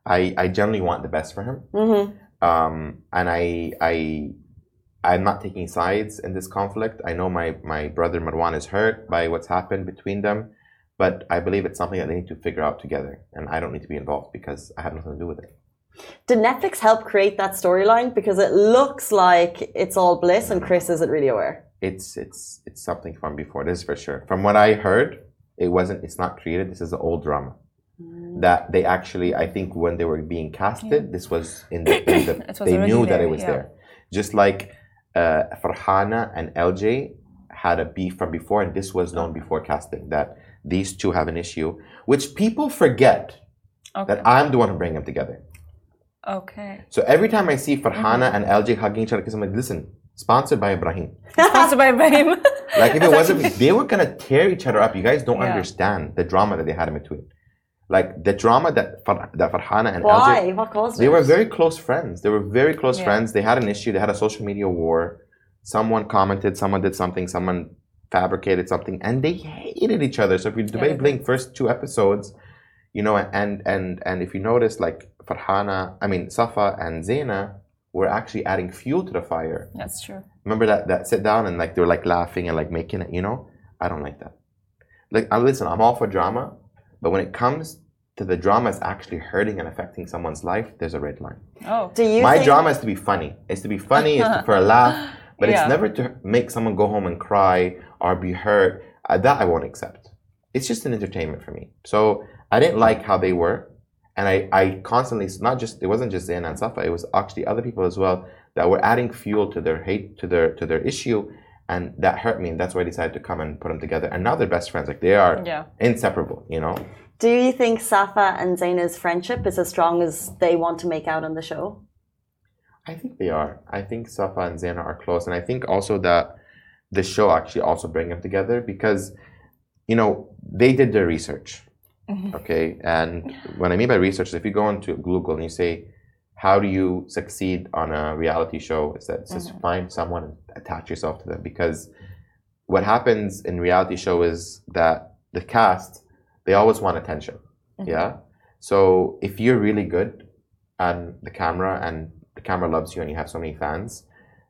I, I generally want the best for him. Mm-hmm. Um, and I, I, I'm not taking sides in this conflict. I know my, my brother Marwan is hurt by what's happened between them, but I believe it's something that they need to figure out together. And I don't need to be involved because I have nothing to do with it. Did Netflix help create that storyline? Because it looks like it's all bliss and Chris isn't really aware. It's, it's, it's something from before, this is for sure. From what I heard, it wasn't, it's not created. This is an old drama. That they actually, I think when they were being casted, yeah. this was in the, in the they knew that there, it was yeah. there. Just like uh, Farhana and L J had a beef from before, and this was known before casting, that these two have an issue, which people forget okay. that I'm the one who bring them together. Okay. So every time I see Farhana mm-hmm. and L J hugging each other, because I'm like, listen, sponsored by Ibrahim. Sponsored by Ibrahim. Like if it wasn't, they were going to tear each other up. You guys don't yeah. understand the drama that they had in between. Like the drama that Far, that Farhana and Why? L J, what caused they it? were very close friends. They were very close yeah. friends. They had an issue. They had a social media war. Someone commented, someone did something, someone fabricated something, and they hated each other. So if you debate yeah, Blink first two episodes, you know, and and and if you notice, like Farhana, I mean Safa and Zaina were actually adding fuel to the fire. That's true. Remember that that sit down and like they were like laughing and like making it. You know, I don't like that. Like, I listen, I'm all for drama. But when it comes to the drama is actually hurting and affecting someone's life, there's a red line. Oh, do you? My think... drama is to be funny. It's to be funny. It's to, for a laugh. But yeah. it's never to make someone go home and cry or be hurt. Uh, that I won't accept. It's just an entertainment for me. So I didn't like how they were, and I, I constantly not just it wasn't just Zaina and Safa. It was actually other people as well that were adding fuel to their hate to their to their issue. And that hurt me, and that's why I decided to come and put them together. And now they're best friends. Like, they are yeah. inseparable, you know? Do you think Safa and Zaina's friendship is as strong as they want to make out on the show? I think they are. I think Safa and Zaina are close. And I think also that the show actually also bring them together because, you know, they did their research, mm-hmm. okay? And what I mean by research is if you go into Google and you say, how do you succeed on a reality show? Is that mm-hmm. just find someone and attach yourself to them. Because what happens in reality show is that the cast, they always want attention. Mm-hmm. Yeah. So if you're really good on the camera and the camera loves you and you have so many fans,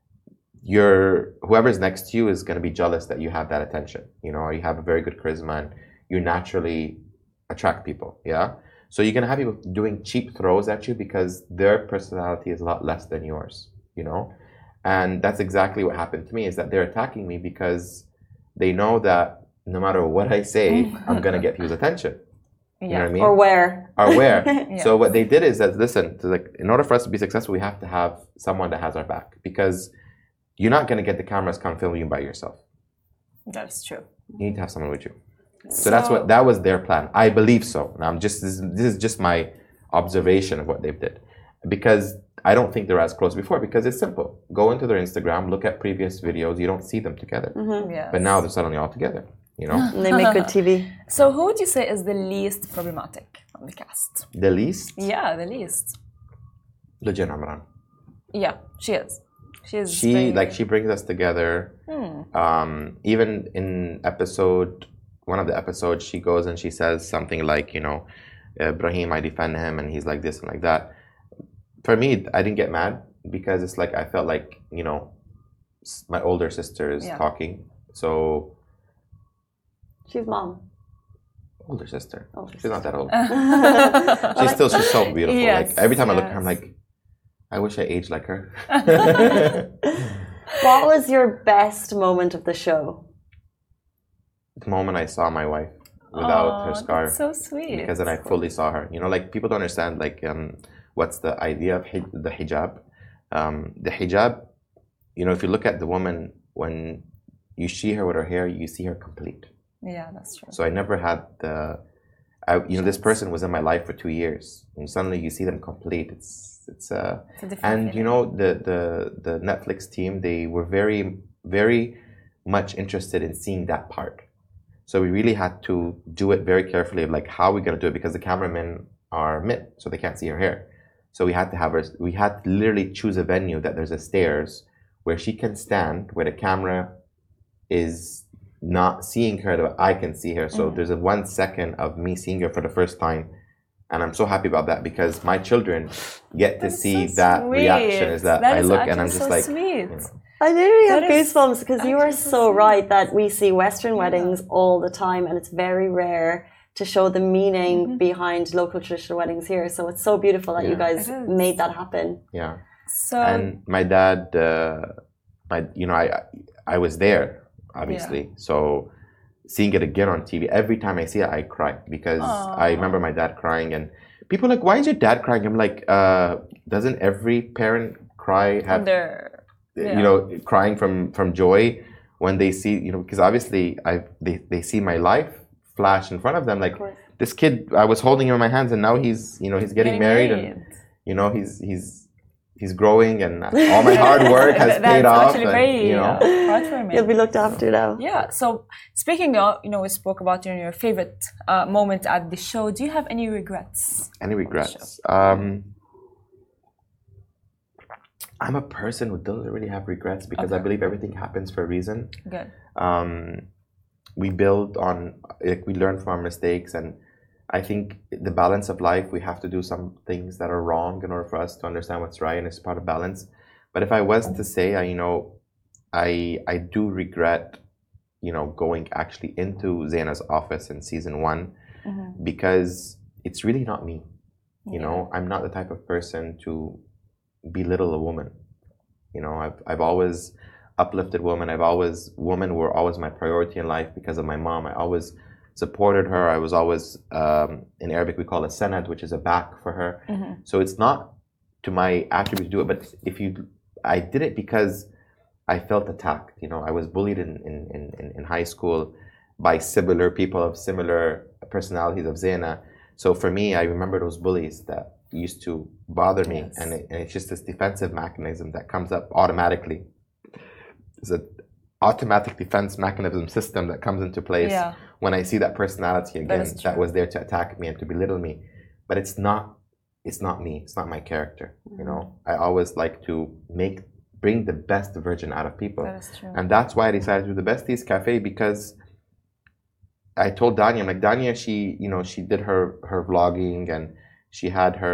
you're whoever's next to you is going to be jealous that you have that attention. You know, or you have a very good charisma and you naturally attract people. Yeah. So you're going to have people doing cheap throws at you because their personality is a lot less than yours, you know? And that's exactly what happened to me, is that they're attacking me because they know that no matter what I say, I'm going to get people's attention. You yeah. know what I mean? Or where. Or where. yeah. So what they did is that, listen, to like, in order for us to be successful, we have to have someone that has our back. Because you're not going to get the cameras come film you by yourself. That's true. You need to have someone with you. So, so that's what that was their plan. I believe so. Now I'm just this, this is just my observation of what they did, because I don't think they're as close before. Because it's simple. Go into their Instagram, look at previous videos. You don't see them together, mm-hmm. yes. but now they're suddenly all together. You know, and they make good T V. So who would you say is the least problematic from the cast? The least? Yeah, the least. Lujan Amran. Yeah, she is. She is. She very... like she brings us together. Hmm. Um, even in episode. One of the episodes, she goes and she says something like, you know, Ibrahim, I defend him, and he's like this and like that. For me, I didn't get mad because it's like I felt like, you know, my older sister is yeah. talking. So she's mom. Older sister. Older she's sister. not that old. she's still she's so beautiful. Yes, like every time yes. I look at her, I'm like, I wish I aged like her. What was your best moment of the show? The moment I saw my wife without Aww, her scarf. That's so sweet. Because then I fully saw her. You know, like people don't understand like um, what's the idea of hij- the hijab. Um, the hijab, you know, if you look at the woman, when you see her with her hair, you see her complete. Yeah, that's true. So I never had the, I, you know, this person was in my life for two years. And suddenly you see them complete. It's, it's, uh, it's a and feeling. you know, the, the, the Netflix team, they were very, very much interested in seeing that part. So we really had to do it very carefully, like how we're going to do it, because the cameramen are mid, so they can't see her hair. So we had to have her, we had to literally choose a venue that there's a stairs where she can stand, where the camera is not seeing her, but I can see her. So mm-hmm. there's a one second of me seeing her for the first time And I'm so happy about that because my children get to That's see so that sweet. reaction. Is that, That I is look and I'm actually just so like, sweet. you know. I literally have That is goosebumps because you are actually so so sweet. right that we see Western weddings all the time, and it's very rare to show the meaning Mm-hmm. behind local traditional weddings here. So it's so beautiful that you Yeah. guys It is. made that happen. Yeah. So And my dad, uh, my you know, I I was there obviously, so seeing it again on T V, every time I see it, I cry because Aw. I remember my dad crying, and people are like, "Why is your dad crying?" I'm like, uh, "Doesn't every parent cry have their yeah. you know crying from from joy when they see you know because obviously I they they see my life flash in front of them like." This kid, I was holding him in my hands, and now he's, you know, he's getting, Getting married, married. and you know, he's he's he's growing, and all my hard work has That's paid off. actually And, very you know, uh, heartwarming. You'll be looked after now. Yeah. So speaking of, you know, we spoke about you know, your favorite uh, moment at the show. Do you have any regrets? any regrets? Um, I'm a person who doesn't really have regrets because I Okay. believe everything happens for a reason. Good. Um, we build on, like, we learn from our mistakes, and I think the balance of life, we have to do some things that are wrong in order for us to understand what's right, and it's part of balance. But if I was to say, I, you know, I I do regret, you know, going actually into Zaina's office in season one Mm-hmm. because it's really not me. You Yeah. know, I'm not the type of person to belittle a woman. You know, I've I've always uplifted women. I've always women were always my priority in life because of my mom. I always supported her. I was always um, in Arabic we call it sanad, which is a back for her. Mm-hmm. So it's not to my attribute to do it, but if you, I did it because I felt attacked. You know, I was bullied in in, in, in high school by similar people of similar personalities of Zaina. So for me, I remember those bullies that used to bother me, Yes. and, it, and it's just this defensive mechanism that comes up automatically. It's an automatic defense mechanism system that comes into place Yeah. when I see that personality again is that true. was there to attack me and to belittle me. But it's not it's not me. It's not my character. You know, I always like to make bring the best version out of people. That is true. And that's why I decided to do the Besties Cafe, because I told Danya, I'm like, Danya, she, you know, she did her her vlogging, and she had her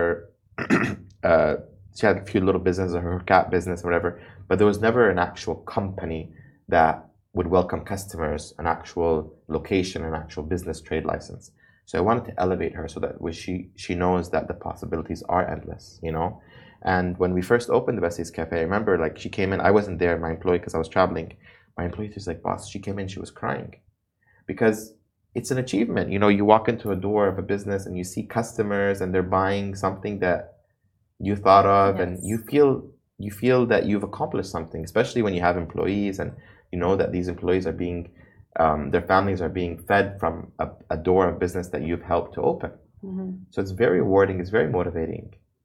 uh, she had a few little businesses, her cat business or whatever, but there was never an actual company that would welcome customers, an actual location, an actual business trade license. So I wanted to elevate her so that she she knows that the possibilities are endless, you know. And when we first opened the Besties Cafe, I remember like she came in. I wasn't there, my employee, because I was traveling. My employee was like, "Boss," she came in, she was crying, because it's an achievement. You know, you walk into a door of a business and you see customers and they're buying something that you thought of, Yes. and you feel you feel that you've accomplished something, especially when you have employees and you know that these employees are being, um, their families are being fed from a, a door of business that you've helped to open. Mm-hmm. So it's very rewarding. It's very motivating.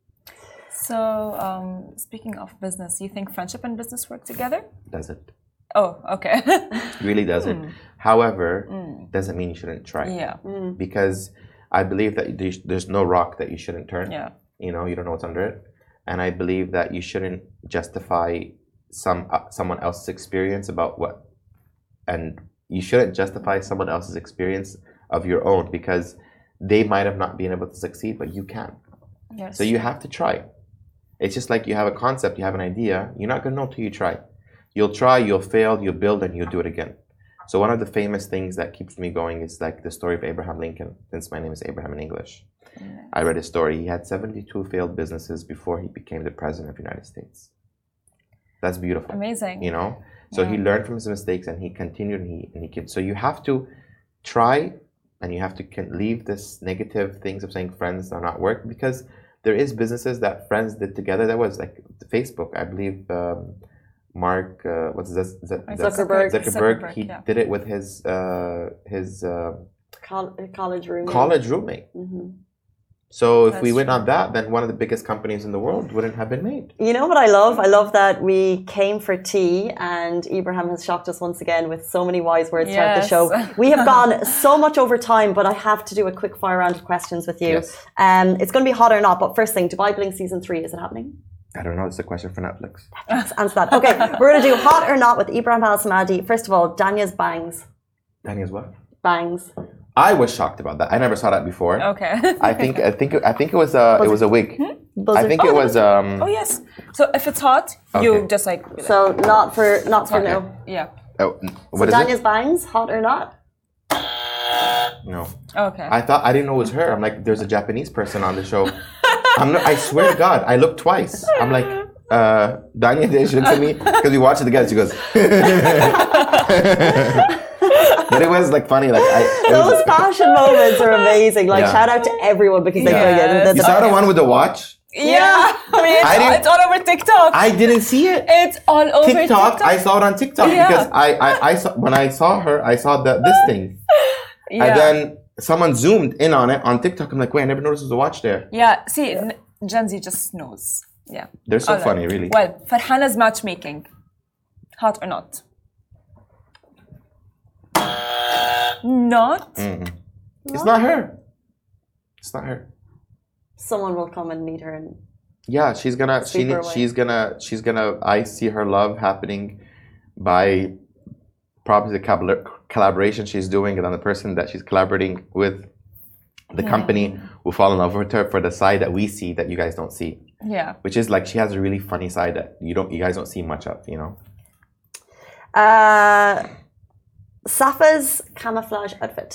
So um, speaking of business, you think friendship and business work together? Does it? Oh, okay. Really doesn't. Mm. However, Mm. doesn't mean you shouldn't try. Yeah. Mm. Because I believe that there's- there's no rock that you shouldn't turn. Yeah. You know, you don't know what's under it. And I believe that you shouldn't justify some uh, someone else's experience about what, and you shouldn't justify someone else's experience of your own, because they might have not been able to succeed, but you can. Yes. So you have to try. It's just like you have a concept, you have an idea, you're not going to know till you try. You'll try, you'll fail, you'll build, and you'll do it again. So one of the famous things that keeps me going is like the story of Abraham Lincoln, since my name is Abraham in English. Yes. I read his story. He had seventy-two failed businesses before he became the president of the United States. That's beautiful. Amazing. You know? So Yeah. he learned from his mistakes, and he continued, and he, and he kept. So you have to try, and you have to can leave this negative things of saying friends are not work, because there is businesses that friends did together. That was like Facebook, I believe. Um, Mark, uh, what's this? Z- Zuckerberg. Zuckerberg. Zuckerberg, He yeah. did it with his uh, his uh, Col- college room. college roommate. Mm-hmm. So if That's we went true. on that, then one of the biggest companies in the world wouldn't have been made. You know what I love? I love that we came for tea, and Ibrahim has shocked us once again with so many wise words throughout the Yes. show. We have gone so much over time, but I have to do a quick fire round of questions with you. Yes. Um, it's going to be hot or not, but first thing, Dubai Bling season three, is it happening? I don't know. It's a question for Netflix. Let's answer that. Okay, we're going to do hot or not with Ibrahim Al Samadi. First of all, Danya's bangs. Danny as well. Bangs. I was shocked about that. I never saw that before. Okay. I think I think I think it was a it was a wig. Buzzer. I think it was um. Oh yes. So if it's hot, you Okay. just like. So not for not for no. Yeah. Oh, what is Danya's it? bangs, hot or not? No. Okay. I thought I didn't know it was her. I'm like, there's a Japanese person on the show. I'm not, I swear to God, I looked twice. I'm like, uh, Danya, she looks at me because we watched it together. She goes, but it was like funny. Like I, it Those was, fashion moments are amazing. Like Yeah. shout out to everyone because they bring Yes. it. you saw the one with the watch? Yeah. I mean, it's, I didn't- it's all over TikTok. I didn't see it. It's all over TikTok, TikTok. I saw it on TikTok Yeah. because I, I, I saw when I saw her, I saw the this thing, Yeah. and then someone zoomed in on it on TikTok. I'm like, wait, I never noticed there was a watch there. Yeah. See, n- Gen Z just knows. Yeah. They're so Alright. funny, really. Well, Farhana's matchmaking, hot or not? Not. It's not her. It's not her. Someone will come and meet her and Yeah, she's gonna. She Sweep her need, away. she's gonna. She's gonna. I see her love happening by probably the collab- collaboration she's doing, and then the person that she's collaborating with, the company will fall in love with her for the side that we see that you guys don't see, Yeah. which is like she has a really funny side that you don't. You guys don't see much of. You know. uh, Safa's camouflage outfit.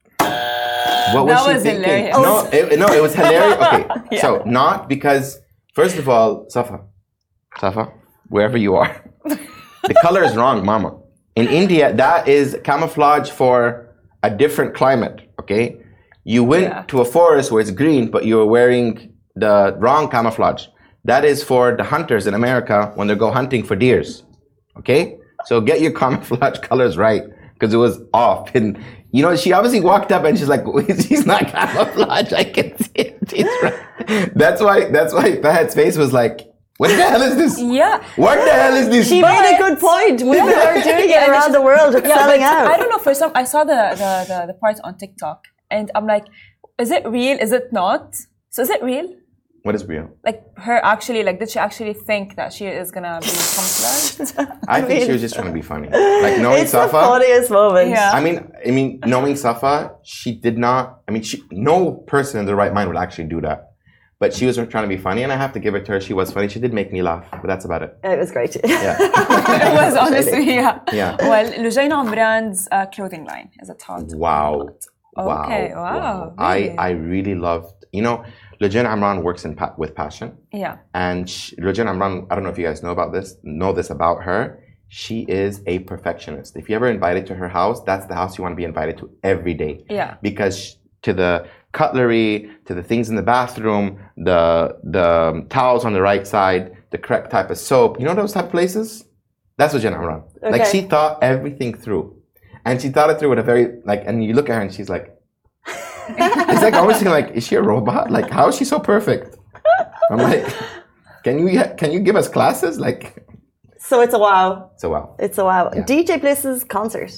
What was That she was thinking? hilarious. No, it, no, it was hilarious. Okay, Yeah. so not because first of all, Safa, Safa, wherever you are, the color is wrong, Mama. In India, that is camouflage for a different climate. Okay, you went Yeah. to a forest where it's green, but you were wearing the wrong camouflage. That is for the hunters in America when they go hunting for deers. Okay, so get your camouflage colors right because it was off. And you know, she obviously walked up and she's like, "She's not camouflage. I can see it. She's right." That's why. That's why Fahad's face was like, "What the hell is this? Yeah. What the hell is this?" She made a good point. Women are doing it And around it's- the world. It's Yeah, selling but out. I don't know. For some, I saw the, the the the part on TikTok, and I'm like, is it real? Is it not? So is it real? What is real? Like her actually, like, did she actually think that she is gonna be camouflaged? I think she was just trying to be funny. Like knowing It's the Safa. funniest moment. Yeah. I mean, I mean, knowing Safa, she did not. I mean, she no person in their right mind would actually do that. But she was trying to be funny, and I have to give it to her. She was funny. She did make me laugh, but that's about it. It was great. Yeah. It was honestly, yeah. Yeah. Well, Lujaina Omran's uh, clothing line is a hot. Wow. Okay, wow, I really? I really loved. You know, Lujaina Amran works in pa- with passion, Yeah. and she, Lujaina Amran. I don't know if you guys know about this. Know this about her. She is a perfectionist. If you're ever invited to her house, that's the house you want to be invited to every day. Yeah. Because sh- to the cutlery, to the things in the bathroom, the the towels on the right side, the correct type of soap. You know those type of places? That's what Lujaina Amran. Like Okay. she thought everything through, and she thought it through with a very like. And you look at her and she's like. It's like always thinking like, is she a robot? Like, how is she so perfect? I'm like, can you can you give us classes? Like, So it's a wow. so wow. It's a wow. Yeah. D J Bliss's concert.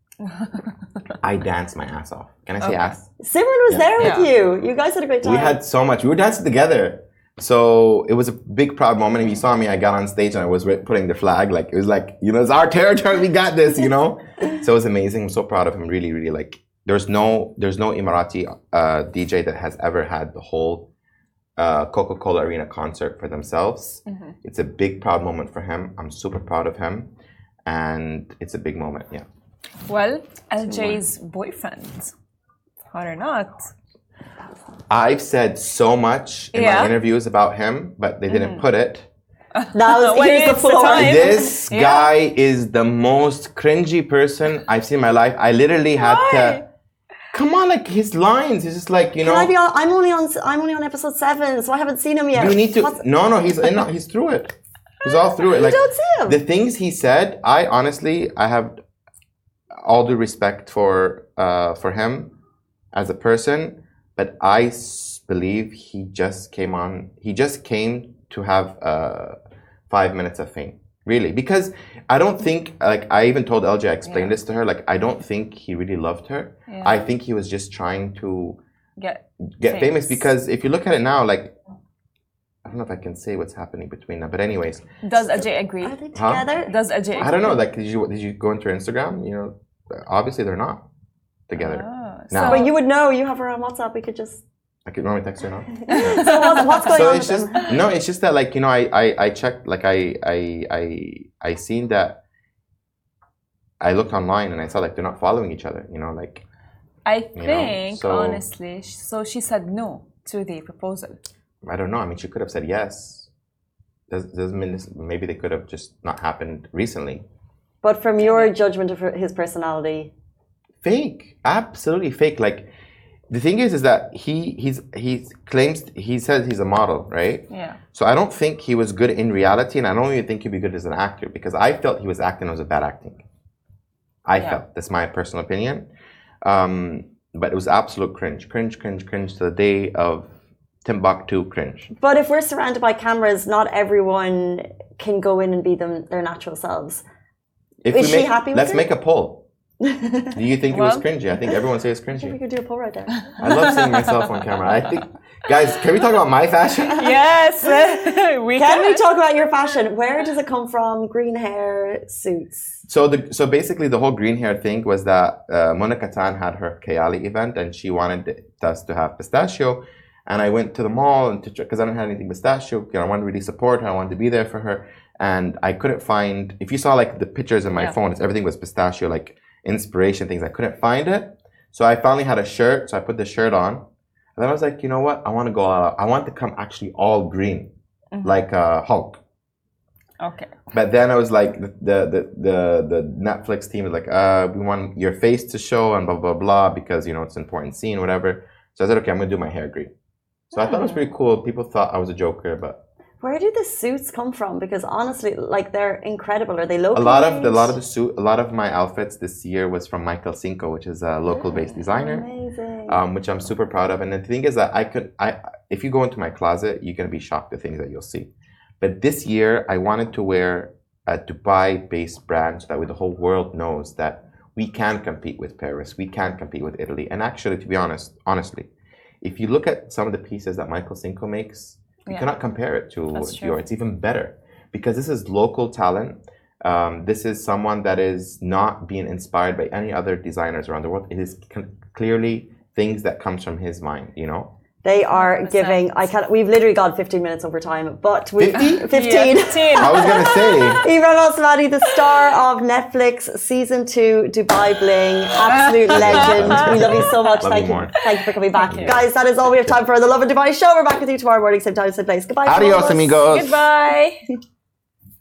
I danced my ass off. Can I say Okay. ass? Simran was Yeah. there with Yeah. you. You guys had a great time. We had so much. We were dancing together. So it was a big proud moment. If you saw me, I got on stage and I was re- putting the flag. Like it was like, you know, it's our territory. We got this, you know. So it was amazing. I'm so proud of him. Really, really like. There's no, there's no Emirati uh, D J that has ever had the whole uh, Coca-Cola Arena concert for themselves. Mm-hmm. It's a big proud moment for him. I'm super proud of him, and it's a big moment. Yeah. Well, L J's boyfriend, hot or not? I've said so much in Yeah. my interviews about him, but they didn't put it. Now When here's the it's the floor. time. This Yeah. guy is the most cringy person I've seen in my life. I literally had Why? to. Come on, like his lines. It's just like you know. Can I be on, I'm only on. I'm only on episode seven, so I haven't seen him yet. You need to. What's- No, no, he's no, he's through it. He's all through it. Like don't see him. the things he said. I honestly, I have all due respect for uh, for him as a person, but I s- believe he just came on. He just came to have uh, five minutes of fame. Really, because I don't think, like, I even told L J, I explained Yeah. this to her, like, I don't think he really loved her. Yeah. I think he was just trying to Get get famous. Famous. Because if you look at it now, like, I don't know if I can say what's happening between them, but anyways, Does Ajay agree? Are they Huh? together? Does Ajay agree? I don't know, like, did you did you go into her Instagram? You know, obviously they're not together. Ah, Now. But you would know. You have her on WhatsApp. We could just. I could normally text her now. Yeah. So what's, what's going so on? it's with just them? no. It's just that like you know I I, I checked like I I I I seen that. I looked online and I saw like they're not following each other. You know like. I know, think so- honestly, sh- so she said no to the proposal. I don't know. I mean, she could have said yes. Does doesn't mean this, maybe they could have just not happened recently. But from your judgment of his personality, Fake, absolutely fake. Like the thing is, is that he he's he claims he says he's a model, right? Yeah. So I don't think he was good in reality, and I don't even think he'd be good as an actor because I felt he was acting as a bad acting. I Yeah. felt that's my personal opinion, um, but it was absolute cringe, cringe, cringe, cringe to the day of Timbuktu cringe. but if we're surrounded by cameras, not everyone can go in and be them their natural selves. If Is we she make, happy with let's it? make a poll. Do you think it was Well- cringy? I think everyone says it's We cringy. could do a poll right there. I love seeing myself on camera. I think, guys, can we talk about my fashion? Yes, we Can we talk about your fashion? Where does it come from? Green hair, suits. So the so basically the whole green hair thing was that uh, Mona Katan had her Kayali event and she wanted us to have pistachio, and I went to the mall and because I don't have anything pistachio, you know, I wanted to really support her, I wanted to be there for her, and I couldn't find. If you saw like the pictures in my Yeah. phone, it's, everything was pistachio, like inspiration things. I couldn't find it, so I finally had a shirt, so I put the shirt on, and then I was like, you know what, I want to go all out. I want to come actually all green, Mhm. like uh, Hulk. Okay. But then I was like, the the the the, the Netflix team was like, uh, we want your face to show and blah blah blah because you know it's an important scene, whatever. So I said, okay, I'm gonna do my hair green. So I thought it was pretty cool. People thought I was a joker, but Where do the suits come from? Because honestly, like they're incredible. Are they local? a lot of the made? lot of the suit, a lot of my outfits this year was from Michael Cinco, which is a local based designer, Amazing. um, which I'm super proud of. And the thing is that I could, I if you go into my closet, you're gonna be shocked at things that you'll see. But this year, I wanted to wear a Dubai-based brand so that way the whole world knows that we can compete with Paris, we can compete with Italy. And actually, to be honest, honestly, if you look at some of the pieces that Michael Cinco makes, you Yeah. cannot compare it to That's Dior. true. It's even better because this is local talent. Um, this is someone that is not being inspired by any other designers around the world. It is c- clearly things that comes from his mind, you know? They are one hundred percent. giving. I can't. We've literally got fifteen minutes over time, but we fifty? fifteen. Yeah, fifteen. I was gonna say, Imran Al-Samadi, the star of Netflix season two, Dubai Bling, absolute legend. We love you so much. Love Thank you you, more. thank you for coming back, you. guys. That is all we have time for the Love and Dubai show. We're back with you tomorrow morning, same time, same place. Goodbye. from all adios, of us. amigos. Goodbye.